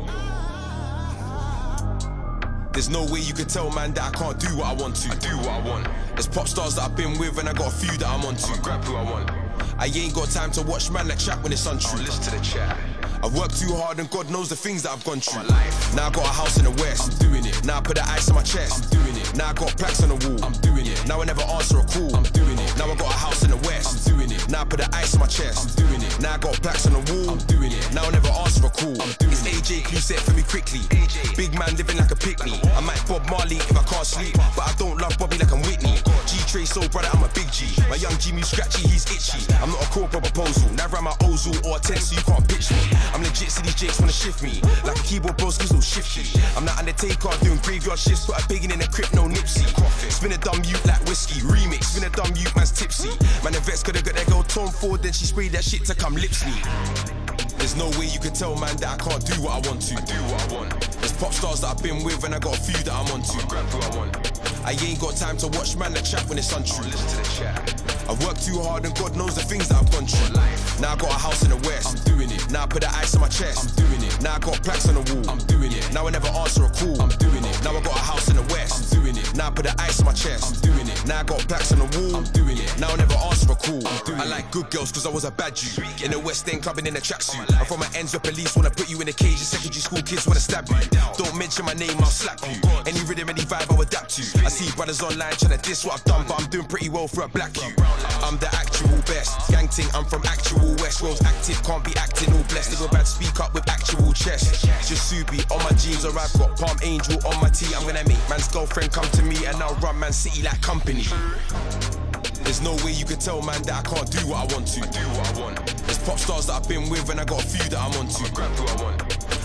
There's no way you could tell, man, that I can't do what I want to. I do what I want. There's pop stars that I've been with, and I got a few that I'm onto. I'ma grab who I want. I ain't got time to watch man like chat when it's untrue. Listen to the chat. I've worked too hard and God knows the things that I've gone through. Now I got a house in the west, I'm doing it. Now I put the ice on my chest, I'm doing it. Now I got plaques on the wall, I'm doing it. Now I never answer a call, I'm doing it. Now I got a house in the west, I'm doing it. Now I put the ice on my chest, I'm doing it. Now I got plaques on the wall, I'm doing it. Now I never answer a call, I'm doing it. It's AJ, you set for me quickly. Big man living like a picnic. I might Bob Marley if I can't sleep, but I don't love Bobby like I'm Whitney. G-Trey so brother, I'm a big G. My young Jimmy scratchy, he's itchy. I'm not a corporate proposal, never am I Ozil or a 10, so you can't pitch me. I'm legit, so these Jakes wanna shift me. Like a keyboard bros, so shifty. I'm not Undertaker, doing graveyard shifts, put a big in a crypt, no Nipsey. Spin a dumb youth like whiskey, remix, spin a dumb youth, man's tipsy. Man, the vets coulda got that girl Tom Ford, then she sprayed that shit to come lips me. There's no way you can tell, man, that I can't do what I want to. I do what I want. There's pop stars that I've been with, and I got a few that I'm onto. I'ma grab who I want. I ain't got time to watch man like chat when it's untrue. Listen to the chat. I've worked too hard and God knows the things that I've gone through. Now I got a house in the west, I'm doing it. Now I put the ice on my chest, I'm doing it. Now I got plaques on the wall, I'm doing it. Now I never answer a call, I'm doing it. Now I got a house in the west, I'm doing it. Now I put the ice on my chest, I'm doing it. Now I got plaques on the wall, I'm doing it. Now I never answer a call, I'm doing it. I like good girls cause I was a bad Jew. In the West End clubbing in a tracksuit. I'm from my ends where police wanna put you in a cage and secondary school kids wanna stab you. Don't mention my name, I'll slap you. Any rhythm, any vibe, I'll adapt to. I see brothers online trying to diss what I've done, but I'm doing pretty well for a black you. I'm the actual best. Gang ting, I'm from actual West. Rose active, can't be acting all blessed. Nigga bad, speak up with actual chest. Just Subi on my jeans, or I've got Palm Angel on my tee. I'm gonna make man's girlfriend come to me, and I'll run Man City like company. There's no way you can tell, man, that I can't do what I want to. Do what I want. There's pop stars that I've been with, and I got a few that I'm onto. I'ma grab who I want.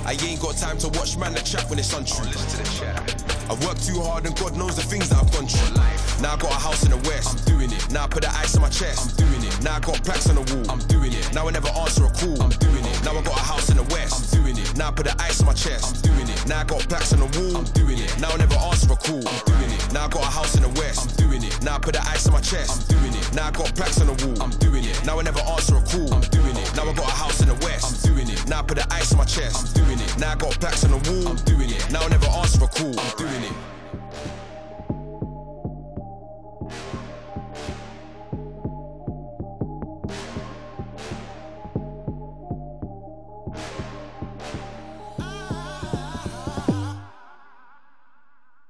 I ain't got time to watch man the chat when it's untrue. I've worked too hard and God knows the things that I've gone through. Now I got a house in the west, I'm doing it. Now I put the ice on my chest, I'm doing it. Now I got plaques on the wall, I'm doing it. Now I never answer a call, I'm doing it. Now I got a house in the west, I'm doing it. Now I put the ice on my chest, I'm doing it. Now I got plaques on the wall, I'm doing it. Now I never answer a call, I'm doing it. Now I got a house in the west, I'm doing it. Now I put the ice on my chest, I'm doing it. Now I got plaques on the wall, I'm doing it. Now I never answer a call, I'm doing it. Now I got a house in the west, I'm doing it. Now I put the ice on my chest, I'm doing it. Now I got plaques on the wall, I'm doing it.